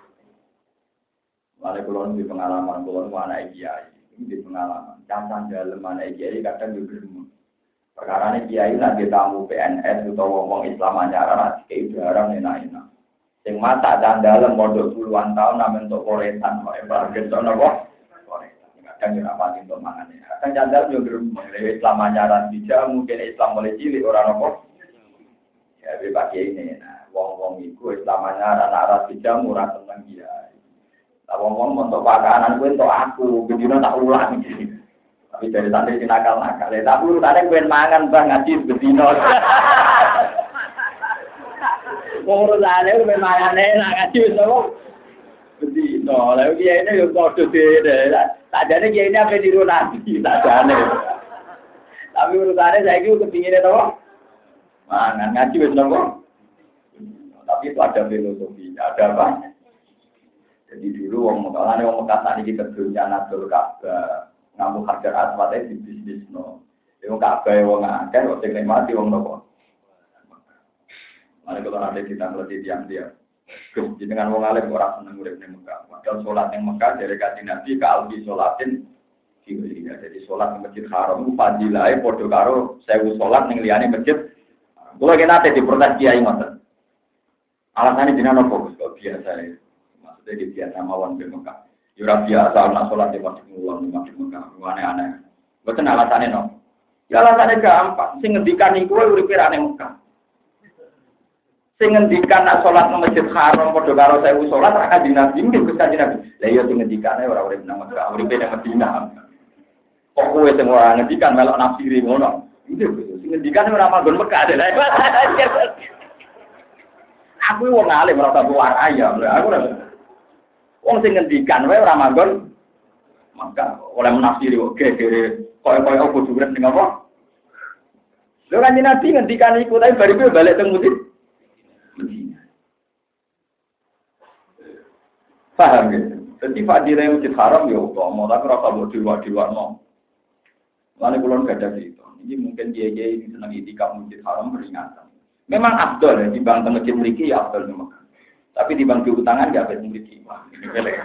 Mane kulon di pengalaman kulon anak kiai, ini di pengalaman. Jangan dalam anak kiai kadang juga perkara ini kiai nak tamu PNS atau ngomong Islam ajaran kiai jarang enak-enak. Sing mata dan dalam modal puluhan tahun namen untuk koretan, kok embargen napa? Kadang yo rapati untuk mangane. Kadang jandal yo ngrewe Islam ajaran bija mungkin Islam mulai cilik ora napa. Ya bebas ini. Nah, wong-wong iku Islam ajaran arah bija murah seneng kiai. Lah wong-wong untuk pakanan kuwi untuk aku, bedino tak ulang iki. Tapi dari santri sing nakal-nakal, tak urutane kuwi mangan bang ngaji bedino. Wong urutane kuwi mangane nak ngaji wis apa? Bedino. Lah kiai ini yo padha dhewe. Sajane kiai ini apa niru nabi, sajane. Tapi urutane saiki kepingine to. Mangan ngaji wis nopo. Tapi itu ada filosofi, ada apa? Jadi dulu wong Mekah tadi kerja Nadul Ka'bah, ngamu Hajar Aswad di bisnisno. Wong Ka'bah wong akeh kok sing nikmati wong nopo. Mane kalau ada kita ngerti tiang-tiang. Dengan wong alim ora seneng urip ning Mekah. Padahal salat ning Mekah dari kanjeng Nabi ka albi salatin diwirinya. Jadi salat ning Masjid Haram fadilahe padha karo 1000 salat ning liyane masjid. Kula kena ate diprotes kiai ngoten. Alasane jenengan opo kok biasa ya. Maksudnya di biasa mawon di Mekah. Ya ora biasa ana salat di Masjid Mekah. Aneh-aneh. Mboten alasane no. Ya alasane gampang. Sing ngendikan iku uripe ra ning Mekah. Sing ngendikan nak salat nang Masjid Haram padha karo 1000 salat ra kanjeng Nabi nggih Gus kanjeng Nabi. Lah iya sing ngendikane ora urip nang Mekah, uripe nang Madinah. Kok kowe sing ora ngendikan melok nafsiri ngono. Nggih Gus, sing ngendikane ora manggon Mekah lha. Aku wong alim ora tak warai ya. Aku ora. Wong sing ngendikan wae ora manggon Mekah, oleh menafsiri kok gegere koyo-koyo opo durep ning apa? Lho kanjeng Nabi ngendikan iku tapi bariku balik teng Madinah. Paham gitu. Jadi fadilah Masjid Haram ya mau tapi rasa buat diwak no. Lalu kulon gada gitu. Ini mungkin dia ini senang itikaf Masjid Haram peringatan. Memang abdul ya di bang masjid mriki ya abdul memang. Tapi di bang diutangan nggak ada mriki. Wah, ini pelek.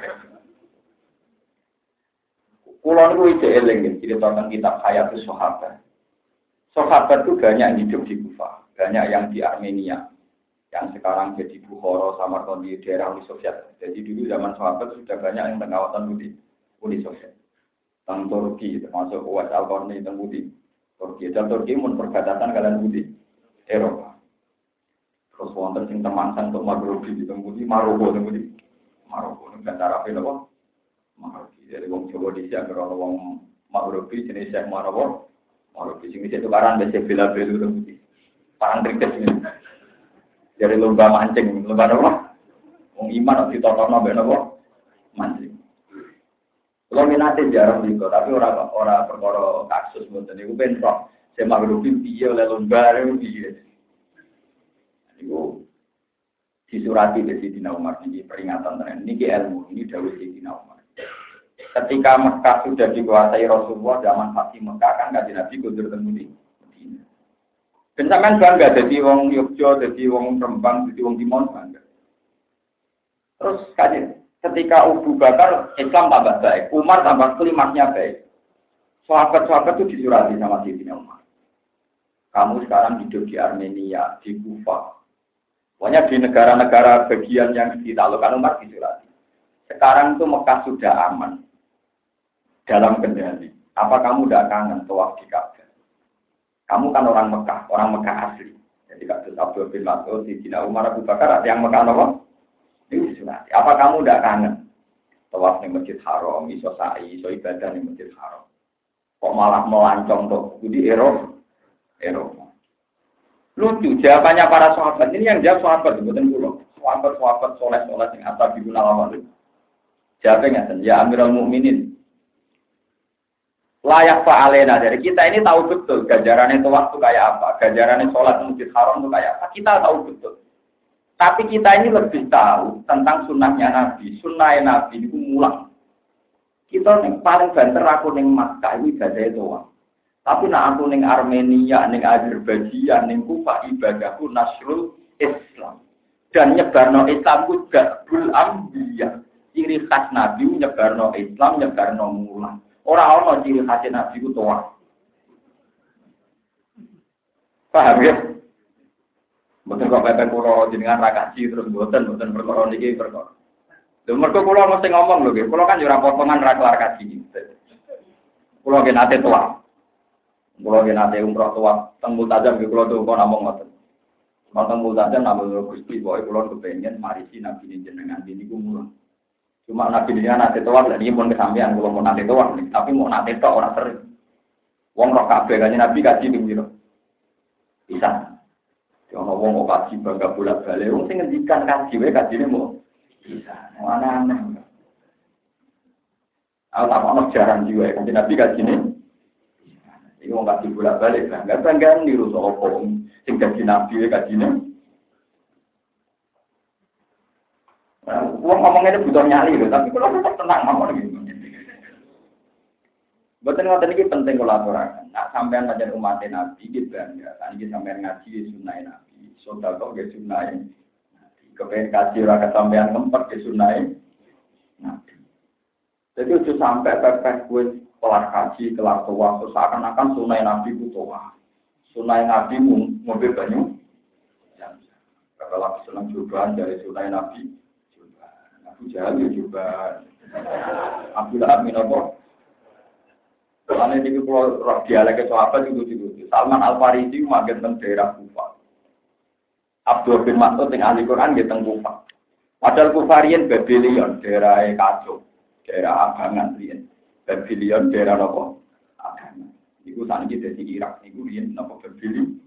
Kulon itu eling gitu. Jadi tentang kitab Hayatus Sahabat. Sahabat itu banyak yang hidup di Kufah, banyak yang di Armenia. Yang sekarang jadi Bukhara, Samarkand di daerah Uni Soviet. Jadi dulu zaman sahabat sudah banyak yang tengah kawasan putih. Uni Soviet. Teng Turki termasuk Uwais Al-Qarni teng Budi. Turki dan Turki mun perbatasan kalian Budi. Eropa. Terus wonten sing temangsang untuk Maghribi di teng Budi, Maroko teng Budi. Maroko negara Arab napa? Maghribi. Jadi wong Jawa dhisik anggere ana wong Maghribi jenis Syekh Maroko. Maroko sing itu karan besi bela-belu teng Budi. Parang trikes ini. Dari lomba mancing, lomba apa? Wong iman ditotokno mbek napa? Mancing. Kalau minatnya jarang juga, tapi orang perkara kasus mungkin itu bentrok. Saya maghribi piye oleh lomba itu piye. Itu disurati dari Sayyidina Umar ini peringatan tren. Ini ilmu, ini dawuh Sayyidina Umar. Ketika Mekah sudah dikuasai Rasulullah zaman Fatih Mekah kan kanjeng Nabi kundur teng Madinah. Ben sampean bangga dadi wong Yogyakarta, dadi wong Rembang, dadi wong Timon bangga. Terus ketika Abu Bakar Islam tambah baik, Umar tambah klimaksnya baik. Sahabat-sahabat itu disurati sama Sayyidina Umar. Kamu sekarang hidup di Armenia, di Kufa. Pokoknya di negara-negara bagian yang ditaklukkan Umar disurati. Sekarang itu Mekah sudah aman. Dalam kendali. Apa kamu tidak kangen tawaf di Ka'bah? Kamu kan orang Mekah asli. Jadi kasus Abdul bin Mas'ud, Sayyidina Umar, Abu Bakar, ada yang Mekah apa? Ini disunati. Apa kamu tidak kangen? Tawaf di Masjid Haram, iso sa'i, iso ibadah di Masjid Haram. Kok malah melancong tuh di Eropa. Lucu jawabannya para sahabat. Ini yang jawab sahabat, bukan pulau. Sahabat soleh yang atas di guna lawal. Jawabnya ya Amirul Mukminin. Layak fa'alena dari kita ini tahu betul gajarannya itu waktu kayak apa, gajarannya sholat di Masjid Haram itu kayak apa. Kita tahu betul. Tapi kita ini lebih tahu tentang sunnahnya Nabi. Sunnahnya Nabi itu mulang. Kita yang paling banter aku yang Makkah ini ibadah itu. Tapi nak aku yang Armenia, yang Azerbaijan, yang Kufa ibadahku Nasrul Islam. Dan nyebarno Islam itu Gabul Ambiya. Ciri khas Nabi nyebarno Islam, nyebarno mulang. Orang-orang ciri khas Nabi itu tua. Paham ya? Mboten kok pepe kula jenengan ra kaji terus mboten perkara niki perkara. Lha mergo kula mesti ngomong lho nggih, kula kan yo ora potongan ra kelar kaji. Kula nggih nate tuwa. Kula nggih nate umroh tuwa teng Multazam nggih kula tuwa namung ngoten. Teng Multazam namung Gusti pokoke kula kepengin marisi nabi jenengan niku mulang. Cuma nabi jenengan nate tuwa lha niki pun kesampean kula mau nate tuwa, tapi mau nate tok ora sering. Wong roh kabeh kanjeng Nabi kaji ping pira? Bisa. Ono wong kok kaji bangga bolak-balik, wong sing ngendikan kaji wae kajine mau bisa. Ana-ana. Tak ono jarang jiwa kan Nabi kajine. Iki wong kaji bolak-balik bangga niru sapa sing kaji Nabi wae kajine. Wong ngomongnya butuh nyali lho, tapi kalau tetap tenang mawon iki. Boten ngoten iki penting kula aturaken. Nak sampean pancen umat Nabi iki bangga, lan iki sampean ngaji sunah Nabi. Sedekah ge sunah Nabi. Kepen kaji ora kesampean kempet ge sunah Nabi. Jadi itu sampai pepeh kuwi kelar kaji, kelar tuwa, seakan-akan sunah Nabi ku tuwa. Sunah Nabi mobil banyu. Kalau senang cobaan dari sunah Nabi, Abu Jahal juga, Abdullah bin Abi. Karena ini kalau dialek sahabat itu. Salman Al-Farisi magen teng daerah Kufa. Abdul bin Mas'ud yang ahli Quran di teng Kufa. Padahal Kufarian Babylon daerah kacau, daerah abangan riyen. Babylon daerah apa? Abangan. Iku saniki dadi Irak niku riyen napa Babylon.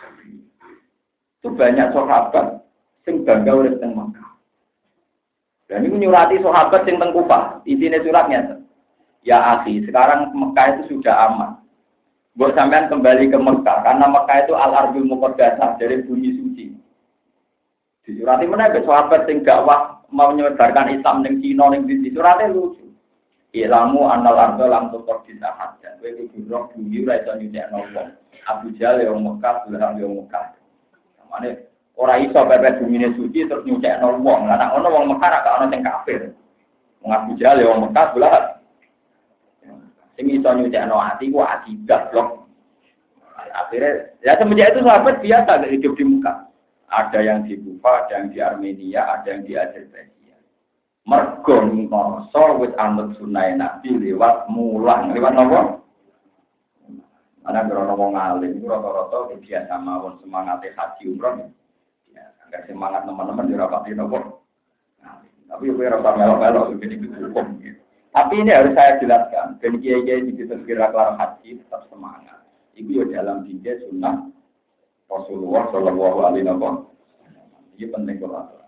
Itu banyak sahabat sing bangga urip teng Mekah. Dan ini nyurati sahabat sing teng Kufa. Isine suratnya ya akhi, sekarang Mekah itu sudah aman. Buat sampean kembali ke Mekah, karena Mekah itu al-ardul muqaddasah dari bumi suci. Disurati mana ke sahabat sing dakwah mau menyebarkan Islam ning Cina ning di surate lucu. Ilamu annal ardul lam tuqaddasah. Kowe kudu roh bumi ora iso nyucikno wong. Abu Jahal yang Mekah, Lahab yang Mekah. Samane ora iso pepet bumine suci terus nyucikno wong. Lah nek ono wong Mekah ra ono sing kafir. Wong Abu Jahal yang Mekah, Lahab sing iso nyucikno ati ku akidah blok. Akhirnya ya semenjak itu sahabat biasa hidup di Mekah. Ada yang di Kufa, ada yang di Armenia, ada yang di Azerbaijan. Mergo ngoso wis anut sunah Nabi lewat mulang, lewat napa? Ana ora wong alim iku rata-rata biasa mawon semangate haji umroh. Ya, anggar semangat teman-teman ora pati napa. Tapi kowe ora melo-melo iki hukum. Tapi ini harus saya jelaskan, dan kiai-kiai di kira kelar haji tetap semangat. Itu ya dalam tiga sunnah Rasulullah Shallallahu Alaihi Wasallam. Ini penting kalau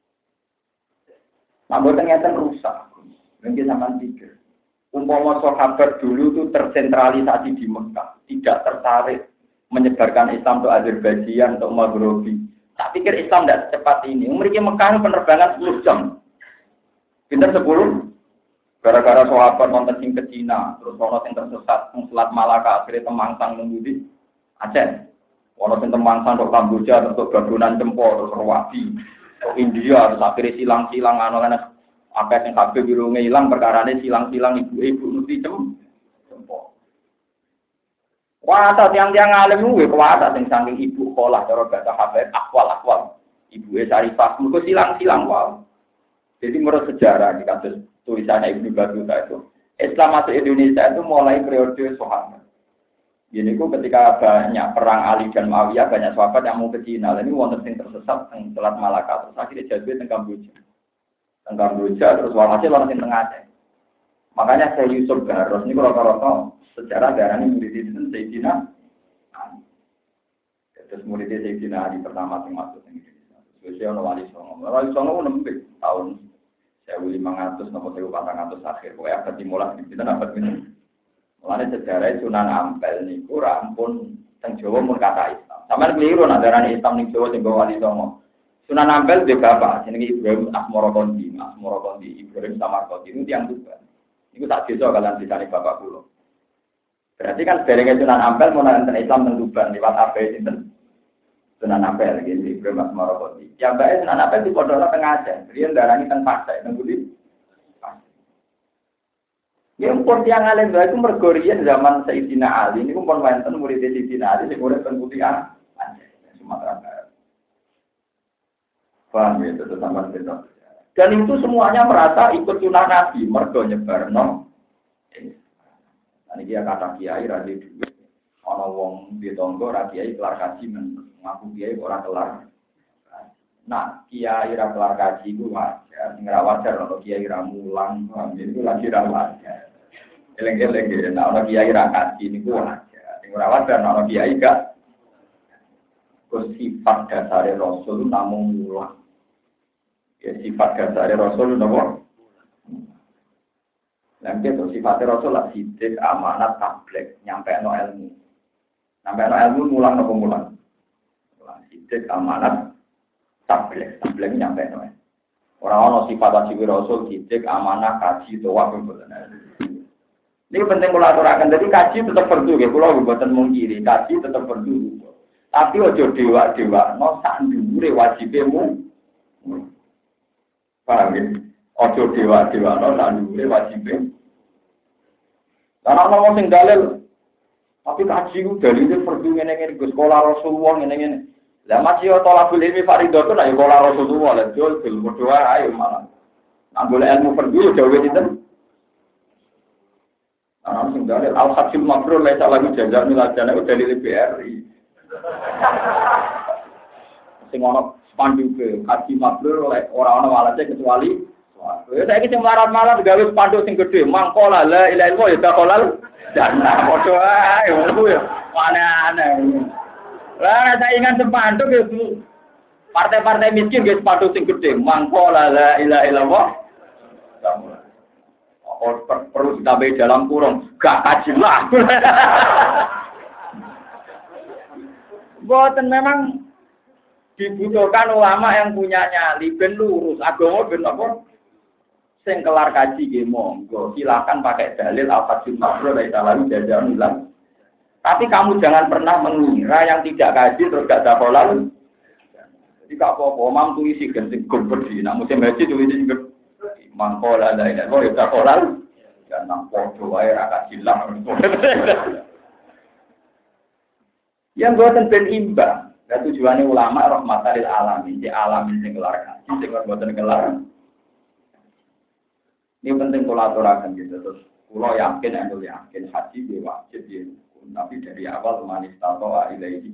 namun ternyata rusak. Mungkin sama pikir. Umpama sahabat dulu itu tersentralisasi di Mekah, tidak tertarik menyebarkan Islam untuk Azerbaijan, untuk Maghribi. Tak pikir Islam tidak secepat ini. Mereka Mekah penerbangan 10 jam. Pinter 10. Gara-gara sahabat nonton sing ke Cina, terus ono sing tersesat nang Selat Malaka, akhirnya temangsang nang di Aceh. Ono sing temangsang tok Kamboja, tok Gagunan Cempo, terus Rawati. India terus akhirnya silang-silang anak-anak akeh sing kabeh birunge ilang perkarane silang-silang ibu-ibu nuti cempo. Wah, tiang-tiang alim kuwi kuwasa sing saking ibu sekolah cara bahasa Habib akwal. Ibuke Syarifah mergo silang-silang wae. Jadi menurut sejarah di kasus tulisannya Ibnu Battuta itu Islam masuk Indonesia itu mulai periode Sahabat. Jadi itu ketika banyak perang Ali dan Muawiyah, banyak sahabat yang mau ke Cina. Ini wonten sing tersesat di Selat Malaka. Terus akhirnya jadi di Kamboja. Terus walhasil orang sing tengah Aceh. Makanya saya Yusuf Garros ini rata-rata sejarah darah ini murid itu Sayyidina Ali. Terus murid Sayyidina Ali pertama yang masuk ke Indonesia. Terus Wali Songo. Wali Songo nembik tahun 1500 nomor 1400 akhir. Pokoknya abad dimulai di kita abad ini. Mulane sejarah Sunan Ampel niku rampun teng Jawa mun kata Islam. Sampeyan keliru nak darani Islam ning Jawa sing Wali Songo. Sunan Ampel dhe bapak jenenge Ibrahim Asmorokondi Ibrahim Samarkandi niku tiyang Tuban. Niku tak desa kalian disane bapak kula. Berarti kan derenge Sunan Ampel mun nonton Islam teng Tuban liwat ape sinten? Sunan Ampel iki Ibrahim Asmorokondi. Ya bae Sunan Ampel di pondok teng Aceh. Riyen darani teng Pasai teng Budi. Yang pun tiang alim itu mergorian zaman Sayyidina Ali ini pun wonten murid Sayyidina Ali sing urip teng Putihan Sumatera Barat. Paham ya itu sama betul. Dan itu semuanya merasa ikut sunah Nabi mergo nyebarno. Nah iki kata kiai ra duwe. Ana wong di tonggo ra kiai kelar kaji ngaku kiai ora kelar. Nah, kiai ra kelar kaji ku wajar, sing ra wajar ana kiai ra mulang, itu lagi ra wajar. Eleng-eleng ana kiai ra kaji niku wajar. Sing ora wajar ana kiai gak sifat dasare Rasul namung mulang. Ya sifat dasare Rasul napa? Lan itu sifat Rasul lah sidik amanat tablek nyampeno ilmu. Nyampeno ilmu mulang napa mulang? Mulang sidik amanat tablek nyampe no. Orang-orang sifat wajib Rasul sidik amanah kaji doa pemboten. Ini penting kula aturaken. Jadi kaji tetap perlu nggih kula mboten mungkiri. Kaji tetap perlu. Tapi ojo dewa-dewa no sak dhuwure wajibmu. Paham ya? Ojo dewa-dewa no sak dhuwure wajibmu. Karena ana sing dalil tapi kaji ku dalile perlu ngene-ngene Gus sekolah Rasulullah ngene-ngene. Lah masih yo tolabul ilmi fardhu nek yo kala Rasulullah lan dol berdoa ayo malah. Nang golek ilmu fardhu yo dawuh sinten? Ana sing dalil al-hajjul mabrur la ta'ala jaza milajana itu dalil BRI. Sing ono spanduk haji mabrur oleh ora ono walase kecuali ya saiki sing marat-marat gawe spanduk sing gedhe mangkola la ilaha illallah ya taqolal jannah padha ae ngono yo aneh-aneh. Lah saya ingat sepanduk itu partai-partai miskin guys sepanduk sing gede mangkola la ilaha illallah. Oh perlu ditambahi dalam kurung gak kaji lah. Boten memang dibutuhkan ulama yang punya nyali ben lurus agama ben apa sing kelar kaji nggih monggo silakan pakai dalil al-fadhil mabrur la ilaha illallah. Tapi kamu jangan pernah mengira yang tidak kaji terus gak ada halal. Jadi gak apa-apa, mam tuh isi ganti gede. Nah musim haji tuh isi gede. Mangkola ada ini, oh ya halal. Jangan podo wae ra kaji lah. Yang buatan ben imbang. Dan tujuannya ulama rahmatal lil alamin, di alamin sing kelar kaji, sing buatan kelar. Ini penting kalau aturakan gitu. Terus kalau yakin, anu yakin haji dia wajib dia. Tapi dari awal manis tato ilaihi.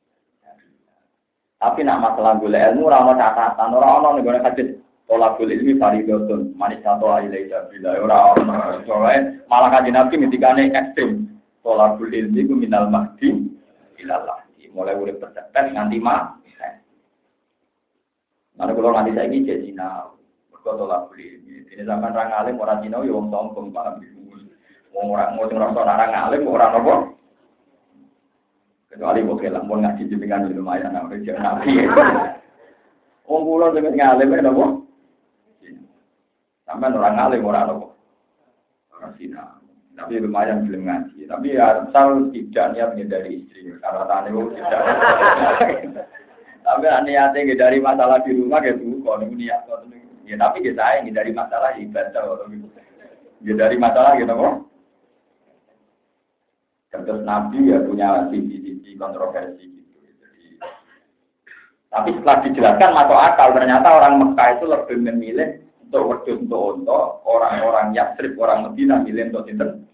Tapi nak masalah gula ilmu orang catatan orang nih hadis tolak gula ilmi faridotun manis tato ilaihi bila orang soalnya malah kaji nabi mitikane ekstrim tolak gula ilmi ku minal mahdi ilallah. Mulai urip percepet nganti mah. Nanti kalau nanti saya ini jadi Cina, berkotolak beli. Ini zaman orang alim orang Cina, ya orang sombong paham bingung. Orang alim orang apa? Kecuali oke lah, mau ngaji jembingan lumayan, namanya jangan nabi. Orang pulau dengan ngalim ada apa? Sampai orang alim orang apa? Orang Cina. Tapi lumayan belum ngaji. Tapi ya asal tidak niat dari istri, karena tanya tidak. Tapi niatnya dari masalah di rumah gitu, kalau niat ya tapi kita ini dari masalah ibadah atau gitu. Ya dari masalah gitu kok. Terus Nabi ya punya sisi-sisi kontroversi gitu. Jadi, tapi setelah dijelaskan masuk akal ternyata orang Mekah itu lebih memilih untuk wedhus untuk orang-orang Yatsrib, orang Madinah milih untuk sinten.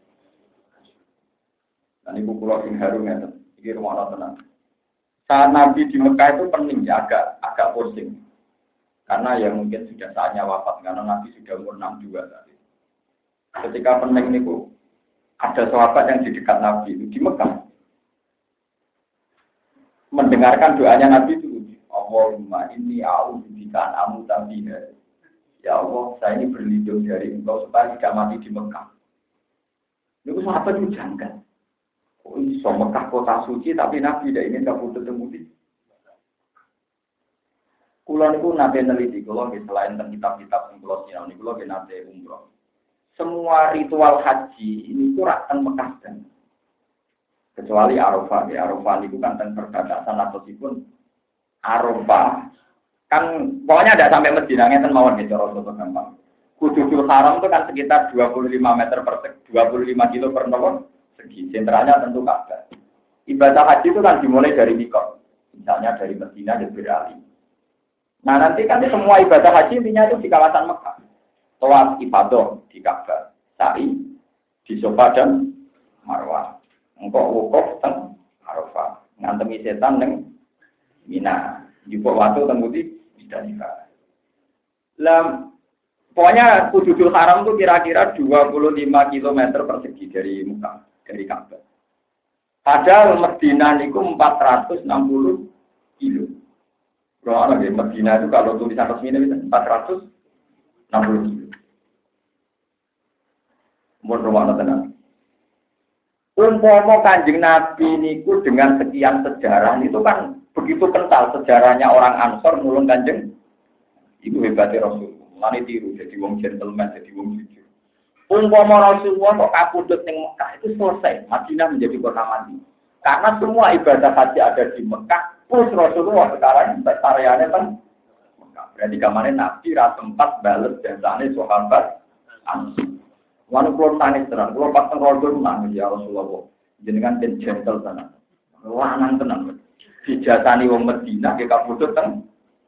Dan ibu pulau sing harum ya, iki rumah tenang. Saat Nabi di Mekah itu pening ya, agak pusing. Karena ya mungkin sudah saatnya wafat, karena Nabi sudah umur 62 tadi. Ketika pening itu, ada sahabat yang di dekat Nabi itu di Mekah. Mendengarkan doanya Nabi itu, Allahumma inni a'udzubika an amuta fiha. Ya Allah, saya ini berlindung dari engkau supaya tidak mati di Mekah. Itu sahabat itu janggal. Oh, iso Mekah kota suci tapi Nabi tidak ingin kabur ketemu di. Kulo niku nate neliti kulo selain tentang kitab-kitab sing kulo sinau niku kulo nate umroh. Semua ritual haji ini ku rak teng Mekah dan kecuali Arafah. Ya Arafah niku kan teng perbatasan atau sipun Arafah kan pokoknya ada sampai Madinah ngeten mawon gitu cara gampang. Kududul Haram itu kan sekitar 25 meter per 25 kilo per nomor. Segi sentralnya tentu Ka'bah. Ibadah haji itu kan dimulai dari mikot, misalnya dari Madinah dan Berali. Nah nanti kan semua ibadah haji intinya itu di kawasan Mekah. Tawaf ibadah di Ka'bah, sa'i di Safa dan Marwah. Engkau wukuf teng Arafah, ngantemi setan neng Mina. Jupuk waktu temudi bisa nikah. Pokoknya Kududul Haram itu kira-kira 25 km persegi dari Mekah. Dari Ka'bah. Padahal Madinah itu 460 kilo. Kalau di Madinah itu kalau tulisan resminya bisa 460 kilo. Mohon rumah tenang. Umpama Kanjeng Nabi niku dengan sekian sejarah itu kan begitu kental sejarahnya orang Ansor nulung Kanjeng. Itu hebatnya Rasul. Mane tiru jadi wong gentleman, jadi wong jujur. Umpama Rasulullah kok kapundhut ning Mekah itu selesai, Madinah menjadi kota mati. Karena semua ibadah haji ada di Mekah, plus Rasulullah sekarang areanya kan Mekah. Berarti kemarin Nabi ra sempat bales jasane sahabat Ansor. Wanu kula tangis tenan, kula pas teng rodo nangis ya Rasulullah. Jenengan ten gentle tenan. Lanang tenan. Dijasani wong Madinah ge kapundhut teng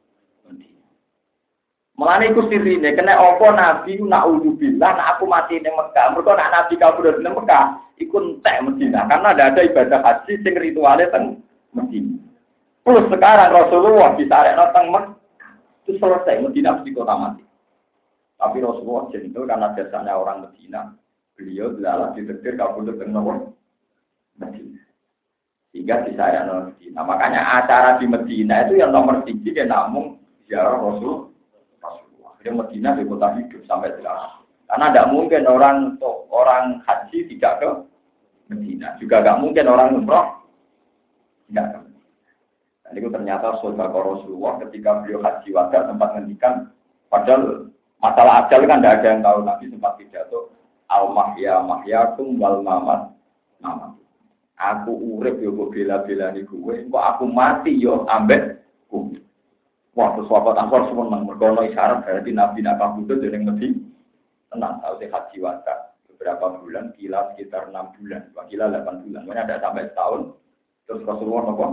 Mulane iku sirine kena apa Nabi naudzubillah nek aku mati ning Mekah. Mergo nek Nabi kabur ning Mekah iku entek Madinah karena ada ibadah haji sing rituale teng Madinah. Plus sekarang Rasulullah disarekno teng Mekah. Itu selesai Madinah mesti kota mati. Tapi Rasulullah jentul karena biasanya orang Madinah. Beliau adalah ditektir kabur teng Madinah. Sehingga disarekno Madinah. Makanya acara di Madinah itu yang nomor 3 kan namung ziarah Rasul. Yang Madinah di kota hidup sampai sekarang. Karena tidak mungkin orang haji tidak ke Madinah. Juga tidak mungkin orang umroh tidak ke Madinah. Dan itu ternyata saudara Rasulullah ketika beliau haji wada sempat ngendikan, padahal masalah ajal kan tidak ada yang tahu. Nabi sempat pidato al-mahya mahyakum wal mamat mamat. Aku urip yo kok bela-belani kowe, kok aku mati yo ambek kowe. Wah, terus sahabat Ansor semua mergono isyarat berarti Nabi nak kabudut dari Nabi tenang tahu sih haji wada beberapa bulan, kila sekitar 6 bulan, kila 8 bulan, makanya ada sampai setahun. Terus Rasulullah nopo.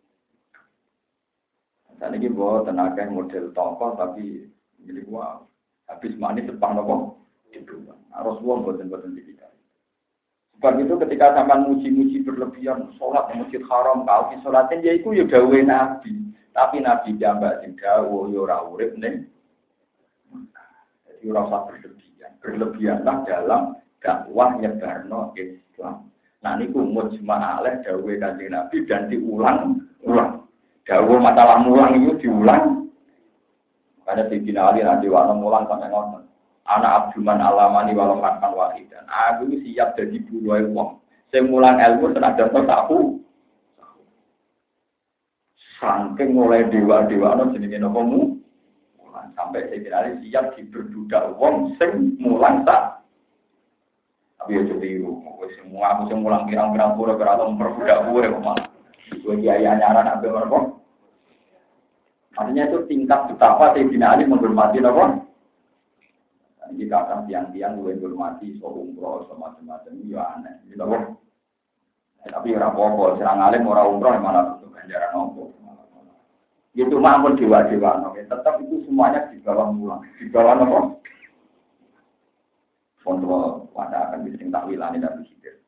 Dan ini bawa tenaga model tongkol tapi milik gua habis manis sepah nopo Itu Rasulullah boten tipikal. Sebab itu ketika sampean muji-muji berlebihan, sholat di Masjid Haram, kau di sholatin ya iku ya dawuhe Nabi. Tapi Nabi jambak sing dawuh ya ora urip ning. Jadi ora usah berlebihan. Berlebihanlah dalam dakwah nyebarno Islam. Nah niku mujma' alaih dawuhe Kanjeng Nabi dan diulang-ulang. Dawuh masalah mulang itu diulang. Karena Sayyidina Ali nanti waktu mulang sampai ngoten. Anak Abduman alamani walau makan wahidan. Aku siap jadi buruai wong. Saya mulang ilmu senajan tahu. Saking mulai dewa-dewa no jenenge napa mu. Sampai Sayyidina Ali siap diberbudak wong sing mulang tak. Tapi ya tiru. Semua aku sing mulang pirang-pirang pura berarti memperbudak gue kok malah. Gue kiai anyaran ambil mereka. Artinya itu tingkat betapa Sayyidina Ali menghormati apa? Jadi kadang tiang-tiang gue menghormati soal umroh macam-macam ya aneh. Gitu apa? Tapi ora apa-apa, serang alim ora umroh malah butuh ganjaran nopo. Itu mampun dewa-dewa nopo. Tetap itu semuanya di bawah mulang. Di bawah nopo? Kontrol pada akan bising takwilane dan bisir.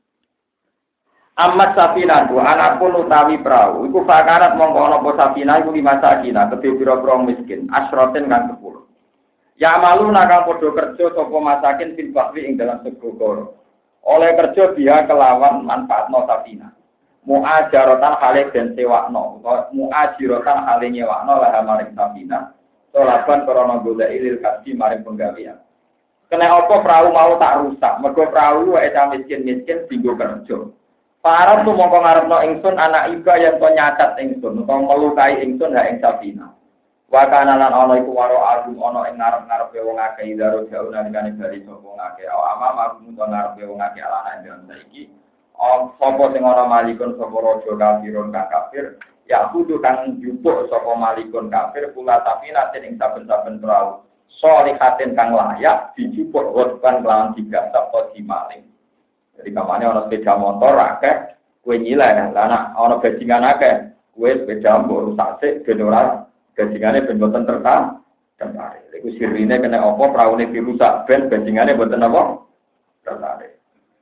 Amat safinatu, anakpun utawi perahu. Iku fakarat mongko ana apa safina iku 5 sakina, kedhe pira-pira miskin, asroten kang 10. Ya malu nakang padha kerja sapa masakin fil bahri ing dalam segoro. Oleh kerja dia kelawan manfaatno safina. Muajaratan hale den sewakno, utawa muajirotan hale nyewakno lah maring safina. Solaban krana golek ilil kasih maring penggawean. Kena apa perahu mau tak rusak, mergo perahu wae miskin-miskin dienggo kerja. Para tu mongko ngarepno ingsun anak iba yang to nyacat ingsun utawa melukai ingsun ha ing safina. Wa kana lan ana iku waro agum ana ing ngarep-ngarepe wong akeh daro jauh nalikane bali sapa wong akeh. Amam agum to ngarepe wong akeh alana ing saiki. Sapa sing ana malikun sapa raja kafirun kang kafir, ya kudu kang njupuk sapa malikun kafir kula safina ing saben-saben perahu. Solihatin kang layak dijupuk wetkan kelawan tiga sapa dimaling. Jadi kamarnya orang sepeda motor akeh, kue nyileh, anak orang bajingan akeh, kue sepeda mbok rusak sik ben ora bajingane ben boten tertarik. Iku sirine kena apa praune dirusak ben bajingane boten apa? Tertarik.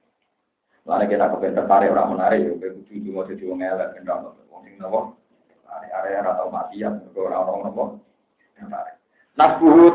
Lan kita kepen tertarik ora menarik yo kudu cuma dadi wong elek ben ora wong sing napa? Area atau maksiat ora ono napa? Tertarik. Nasbuhu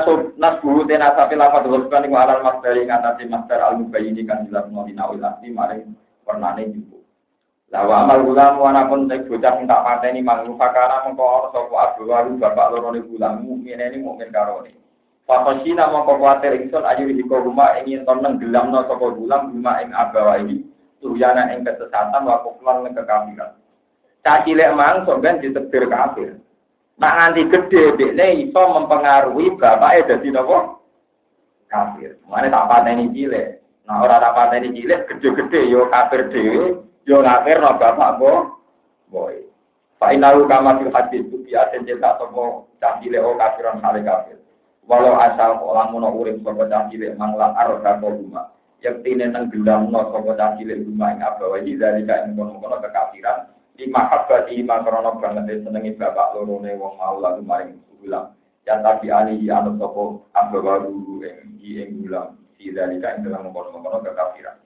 tena sapi lafaz teruskan iku alal masdari ngatasi masdar al-mubayyin kan jelas nolina ulati maring warnane jupu. La wa amal ulam wana pun tek bocah sing tak pateni mangrufakana mengko ana sapa abwaru bapak lorone ulam mukmine ni mukmin karone. Fakosina mengko kuwatir ingsun ayu hiko rumah ingin toneng gelamno sapa ulam rumah ing abawai turyana ing kesesatan wa kuflan ing kekafiran. Cacilek mang sok ben ditebir kafir. Nak nganti gede, dekne iso mempengaruhi bapake dadi napa? Kafir. Mane tak pateni cilik. Nah ora tak pateni cilik gede-gede yo kafir dhewe, yo kafir no bapak boy. Fa inalu kama fil hadis tu biaten cetak sapa cah cilik o kafiran sale kafir. Walau asal lamun urip sapa cah cilik mangla arda rumah. Yektine tenggelamno sapa cah cilik rumah ing abawahi dari ka ing kono-kono kekafiran. Di mahabbati makrono banget senengi bapak lorone wong mau lalu maring ulang yang tadi ani anu sapa ambo baru ing ulang sidalika ing dalam mengkono-kono kekafiran.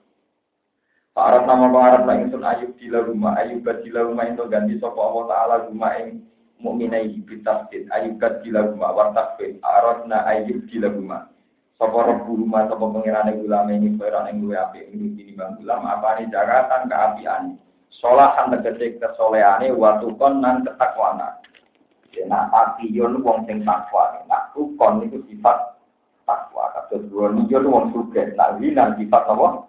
Para nama pengarap la ingsun ayub dila rumah itu ganti sapa Allah taala rumah ing mukminai bitasdid ayub dila rumah wartakfir aradna ayub dila rumah sapa rabbu rumah sapa pengirane ulama ini peran ing luwe apik ing tinimbang ulama apane jagatan kaapian solahan tegese kesoleane watukon nan ketakwana. Nek apiyon wong sing takwa, nek tukon niku sifat takwa. Kados wong wong sugih, nek winan sifat apa?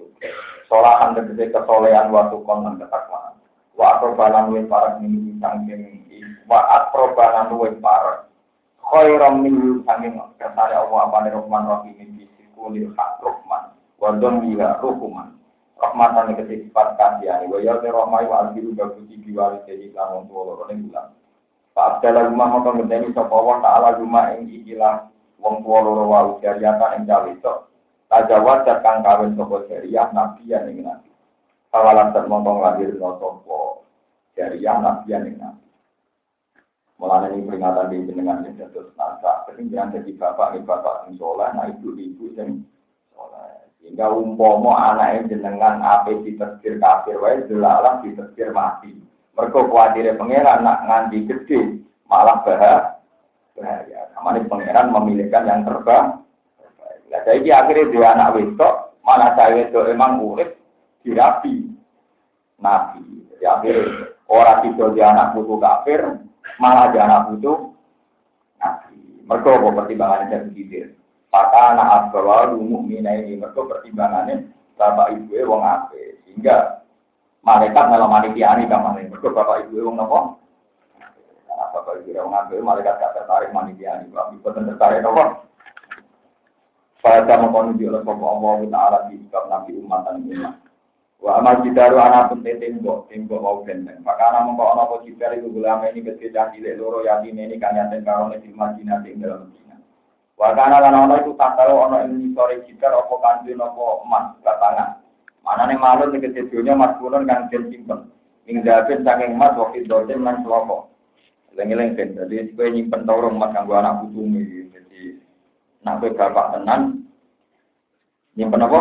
Solahan tegese kesolehan watukon nan ketakwana. Wa aprobalan wis parek ning sangking wa aprobalan wis parek. Khairam min sangking kersane Allah apane Rahman Rahim iki kulil hak Rahman. Wa dhamira rukuman. Rahmatan yang sifat kasihan, wajah terahmai wa albiru bagusi diwali jadi kanon tua lorone bulan. Pak Abdallah rumah maka ngedeni sopawan taala rumah yang ikilah wong tua loro wa ujariyatan yang jawesok. Tajawat kang kawin sopo jariah nabi yang ingin nabi. Kawalan termontong lahir no sopo jariah nabi yang ingin nabi. Mulane ini peringatan di jenengan yang terus nasa. Ketinggian jadi bapak yang soleh, nah ibu yang soleh. Sehingga umpomo anak jenengan apa ditersir kafir, wae delalah ditersir mati. Mereka khawatirnya pangeran nak nganti gede, malah bahaya. Namanya pangeran memilihkan yang terbaik. Nah, jadi akhirnya dia anak wedok, mana saya wedok emang urip dirapi nabi. Jadi akhirnya orang itu dia anak putu kafir, malah dia anak putu nabi. Mereka pertimbangannya jadi gitu. Maka anak asbawa mukmina ini mereka pertimbangannya bapak ibu wong ape, sehingga malaikat malah manitiani kamane. Mereka bapak ibu wong nopo? Bapak ibu wong ape malaikat gak tertarik manitiani, bapak ibu tertarik nopo? Pada mengkonon oleh Allah Taala di kitab Nabi umat dan umat. Wa amal jidaru anak pun tembok mau benteng. Maka anak mengkonon apa jidar itu ulama ini kecil cilik loro yatim ini kan yatim karone di Madinah ing dalam Madinah. Wa kana lan itu tak tahu ana ing sore jidar apa kanjeng apa emas batangan. Manane malun ing kecilnya mas kulon kan simpen. Ing dapet saking emas waktu dosen lan slopo. Lengeleng ben dadi kowe nyimpen torong emas kanggo anak putumu iki. Nak bapak tenan nyimpen apa?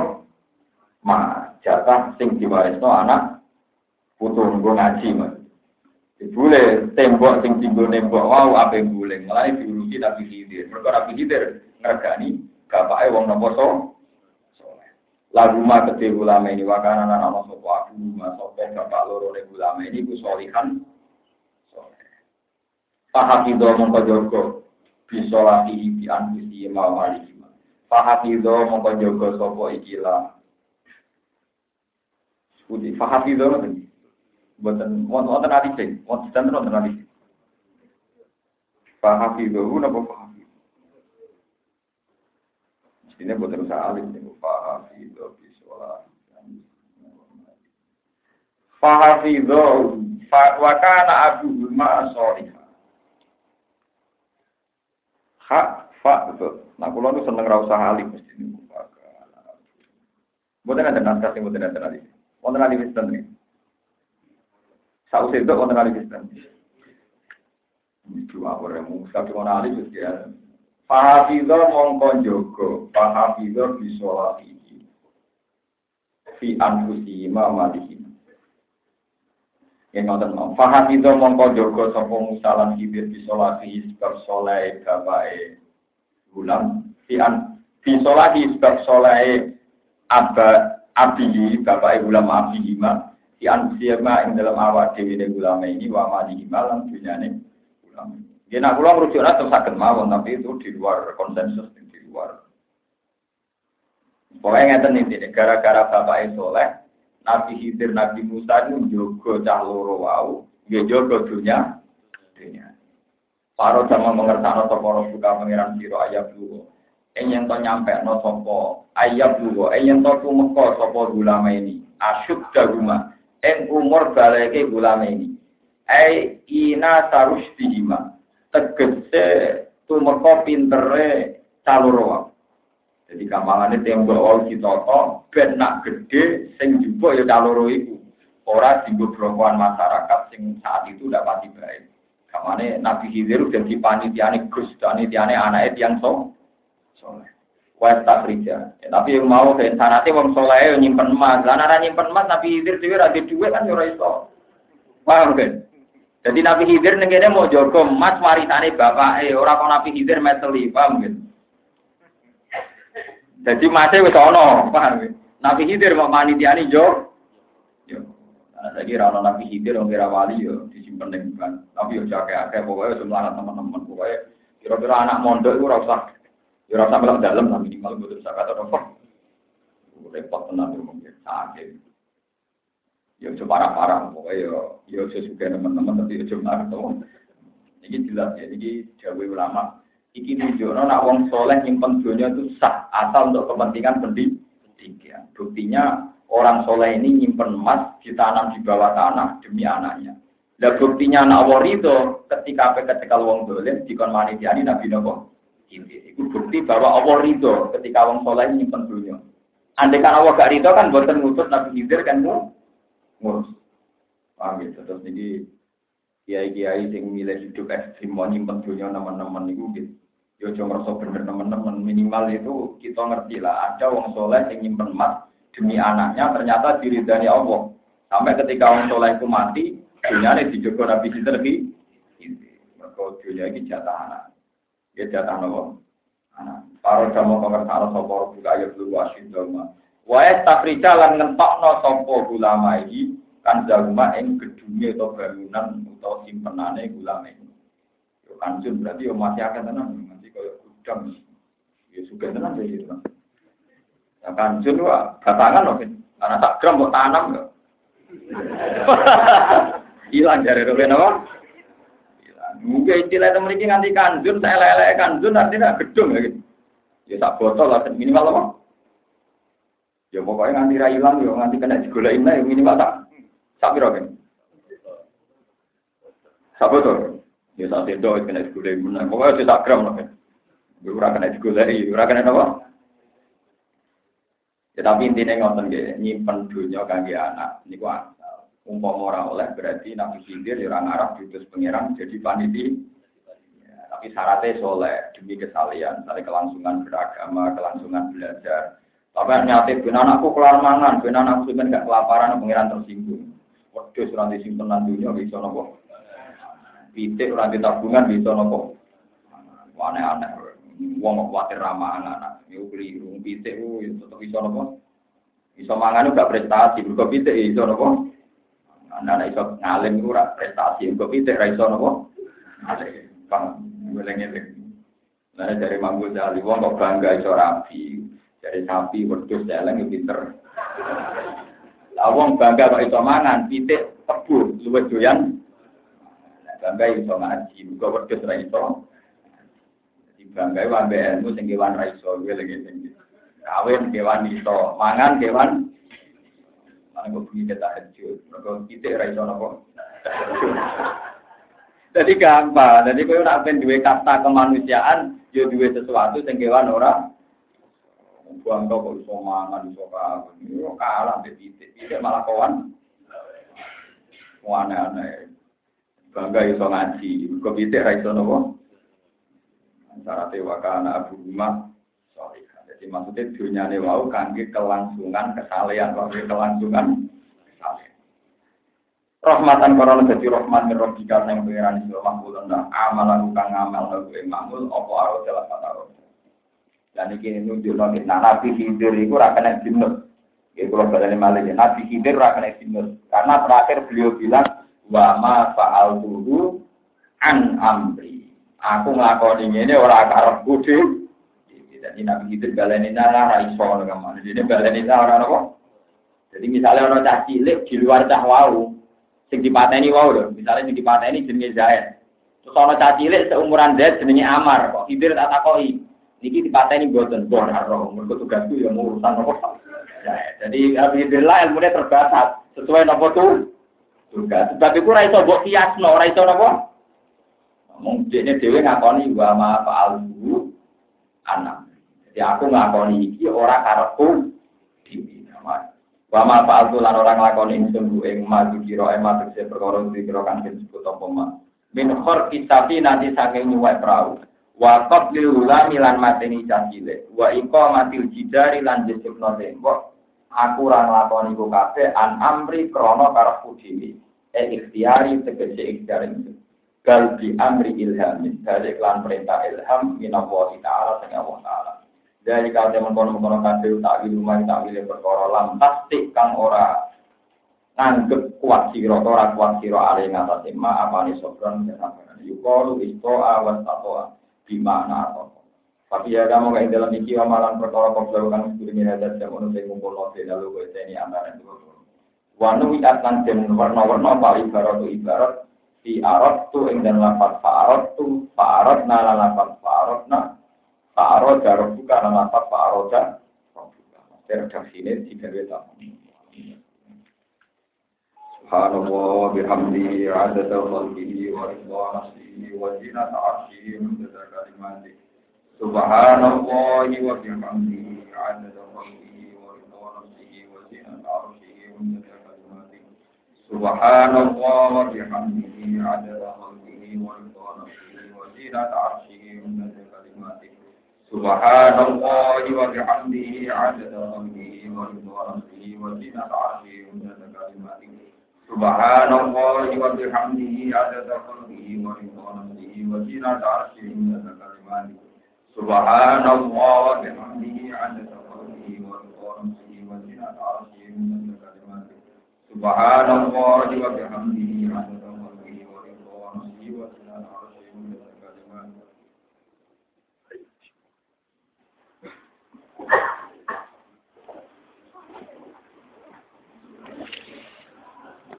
Jatah sing diwarisno anak putu nggo ngaji Mas. Dibule tembok sing dienggo nembok wau ape guling. Mulai diurusi Nabi Khidir. Mergo Nabi Khidir ngregani bapake wong napa saleh. Lagu ma kedhe ulama ini wakana ana sapa aku masope bapak loro ne ulama ini ku solihan saleh. Pahakido mongko jogo bisa lagi di anfusi mawali. Fahafizo mongko jaga sapa ikilah. Budi fahafizo ngoten. Mboten wonten ati sing, wonten ati. Fahafizo napa fahafizo. Mestine mboten usah alim niku fahafizo bisola. Fahafizo wa kana abu ma sholih. Betul. Nah, kalau itu seneng rasa alim mesti ini. Bukan ada naskah yang bukan ada lagi. Bukan ada Kristen nih. Saus itu bukan ada Kristen. Itu apa yang mungkin cuma alim itu ya. Fahafizo mongkon jogo, fahafizo bisolati. Fi anfusi mamadihi. Yang nonton mau. Fahafizo mongkon jogo sopong musalan kibir bisolati sebab soleh bapak Gulam fi sholati sebab soleh abihi bapak gulam abihi ma fi anfusiyama ing dalam awak dhewe gulam ini wa malihi malam dunyane gulam. Yen nak kula ngrujukna terus saged mawon tapi itu di luar konsensus di luar. Pokoknya ngeten iki gara-gara bapak soleh Nabi Khidir Nabi Musa itu njogo cah loro wau nggih njogo dunya. Paro sama mengertakno sapa buka pangeran sira ayat lugo. Yen to nyampe no sapa ayat lugo, yen to tumeka sapa ulama ini. Asyuk daguma ing umur baleke ulama ini. Ina sarusdihima. Tegese tumeka pintere caloro. Jadi kampangane tembok wau ditata ben nak gedhe sing njupuk ya caloro iku. Ora dienggo brokoan masyarakat sing saat itu ndak pati baik. Kamane Nabi Khidir jadi panitiane Gus, panitiane anake tiyang soleh. Wes tak kerja. Tapi yang mau ke sanate wong soleh nyimpen emas. Lan ora nyimpen emas Nabi Khidir dhewe ra duwe kan yo ora iso. Paham kan? Jadi Nabi Khidir ning kene mau jaga emas warisane bapake, ora kok Nabi Khidir meteli, paham kan? Jadi masih wis ana, paham kan? Nabi Khidir mau panitiane yo. Saya kira orang Nabi Khidir, orang kira wali, yo disimpan dengan. Tapi yo jaga-jaga, pokoknya semua teman-teman, pokoknya kira-kira anak mondok itu rasa melang dalam, tapi minimal betul saya kata apa? Repot tenang tuh mungkin sakit. Yo coba parah, pokoknya yo sesuai teman-teman, tapi yo cuma ketemu. Ini jelas ya, ini jauh ulama. Iki tunjukno nak wong soleh nyimpen dunia itu sah asal untuk kepentingan pendidikan. Buktinya orang soleh ini nyimpen emas ditanam di bawah tanah demi anaknya. Dan buktinya anak Allah itu ketika wong dolim dikon manitiani Nabi Nopo. Itu bukti bahwa Allah itu ketika wong soleh nyimpen dunia. Andai kan Allah gak ridho kan boten ngutus Nabi Khidir kan ngurus. Paham gitu. Terus ini kiai-kiai sing milih hidup ekstrim mau nyimpen dunia teman-teman itu gitu. Yo cuma merasa bener teman-teman, minimal itu kita ngerti lah ada wong soleh yang nyimpen emas demi anaknya ternyata diridani Allah. Sampai ketika wong soleh itu mati, dunia ini dijogo Nabi Khidir lagi. Maka dunia ini jatah anak. Ya jatah Allah. Anak. Para jamu pengertian sapa buka ayat dulu asyid doma. Wae takrija lan ngentokno sapa ulama iki kan jalma ing gedunge atau bangunan atau simpenane ulama iki. Yo kanjeng berarti yo masih akan tenan. Gudang, ya suka tenang ya gitu. Ya kan, cuma batangan loh, karena tak gram mau tanam loh. Hilang dari roben apa? Hilang. Mungkin istilah itu mereka nganti kanjun, saya lele kanjun artinya gedung ya gitu. Ya tak botol lah minimal apa? Ya pokoknya nganti hilang, ya nganti kena digolain lah, ya minimal tak roben. Tak botol. Ya tak sedot kena digolain, pokoknya tak gram loh. Ora kena digoleki, ora kena apa? Ya tapi intine ngoten nggih, nyimpen donya kangge anak niku asal. Umpama ora oleh berarti Nabi Khidir ya ora ngarep diutus pangeran jadi panitia. Ya, tapi syaratnya soleh demi kesalian, dari kelangsungan beragama, kelangsungan belajar. Tapi nyate ben anakku kelar mangan, ben anakku sampeyan gak kelaparan pangeran tersinggung. Wedhus ora disimpenan donya bisa napa? Pitik ora ditabungan bisa napa? Aneh-aneh. Wong kuwatir ramah anak, yo keliru pitik ku tetep iso napa? Iso mangan gak prestasi, mergo pitik iso napa? Anak iso ngalim ora prestasi, mergo pitik ra iso napa? Ngalim. Paham, ngene-ngene. Lah dari Mambu Jali wong kok bangga iso rapi, dari sapi wedhus eleng pinter. Lah wong bangga kok iso mangan, pitik tebu luwih doyan. Bangga iso ngaji, mergo wedhus ra iso. Bangga wambe ilmu sing kewan ra iso lagi. Kawin kewan iso, mangan kewan mangan kok bunyi tahajud. Mergo pitik ra iso napa. Jadi gampang. Jadi kowe nek ben duwe kasta kemanusiaan, yo duwe sesuatu sing kewan ora. Buang kok iso mangan iso kawin. Yo kalah mbek pitik. Pitik malah kawan. Aneh-aneh. Bangga iso ngaji. Mergo pitik ra iso napa. Syaratnya wakana abu rumah sorry. Jadi maksudnya dunyane wau kangge kelangsungan kesalehan, kangge kelangsungan kesalehan. Rahmatan korona jadi rahmat min rabbika sing pengiran sira mahmul ndak amalan kang ngamal lagu makmul apa aro dalam kata ro. Dan iki nunjukno nek Nabi Khidir iku ora kena jinus. Iki kula baleni malih Nabi Khidir ora kena jinus karena terakhir beliau bilang wa ma fa'altuhu an amri. Aku nglakoni ngene ora karepku dhewe. Jadi Nabi Khidir baleni nara ra iso ngono kan. Jadi baleni ora apa. Jadi misalnya ana cah cilik di luar cah wau sing dipateni wau lho, misalnya sing dipateni jenenge Zaid. Terus ana cah cilik seumuran Zaid jenenge Amar, kok Khidir tak takoki. Niki dipateni mboten bon karo, mergo tugasku ya urusan apa. Jadi Nabi Khidir lah ilmune terbatas sesuai napa tuh tugas. Sebab iku ora iso mbok kiasno, ora iso napa. Mungkin dhewe ngakoni wa ma fa'alhu anak. Jadi aku ngakoni iki ora karepku dhewe. Wa ma fa'altu lan ora nglakoni ingsun ing ma dikira emat sing perkara dikira kang disebut apa ma. Min khor kitabi nanti saking nyuwek prau. Wa qatlil ulami lan mateni cacile. Wa iqamatil jidari lan disebutno tembok. Aku ora nglakoni ku kabeh an amri krana karepku dhewe. Ikhtiari tegese ikhtiar itu. Gal bi amri ilhamin dari iklan perintah ilham minallahi ta'ala sing Allah ta'ala. Dari kate mengkono-mengkono kabeh takwil lumah takwil perkara lam pasti kang ora nanggep kuat sira ora kuat sira ale ngatasi ma apane sopron kesabaran. Yuqalu isto'a wa taqwa bi makna apa. Tapi ya kamu kayak dalam iki amalan perkara koblo kang sedurunge hadat jam ono sing ngumpulno lalu kowe teni antara dua. Wanu atan den warna-warna paling ibarat di arot tu ing dan lafaz fa'arot na lafaz fa'arot darah buka na lafaz fa'aroda redaksine tiga weta subhanallah bihamdi adada khalqihi wa ridha nafsihi wa zinata arshihi wa adada kalimati subhanallah wa bihamdi adada khalqihi wa ridha nafsihi wa zinata arshihi wa adada kalimati subhanallah wa bihamdi عدد خلقه ورضا نفسه وزينة عرشه ومدد كلماته سبحان الله وبحمده عدد خلقه ورضا نفسه وزينة عرشه ومدد كلماته سبحان الله وبحمده عدد خلقه ورضا نفسه وزينة عرشه ومدد كلماته سبحان الله وبحمده عدد خلقه ورضا نفسه وزينة عرشه ومدد كلماته سبحان الله وبحمده عدد خلقه ورضا نفسه وزينة عرشه ومدد كلماته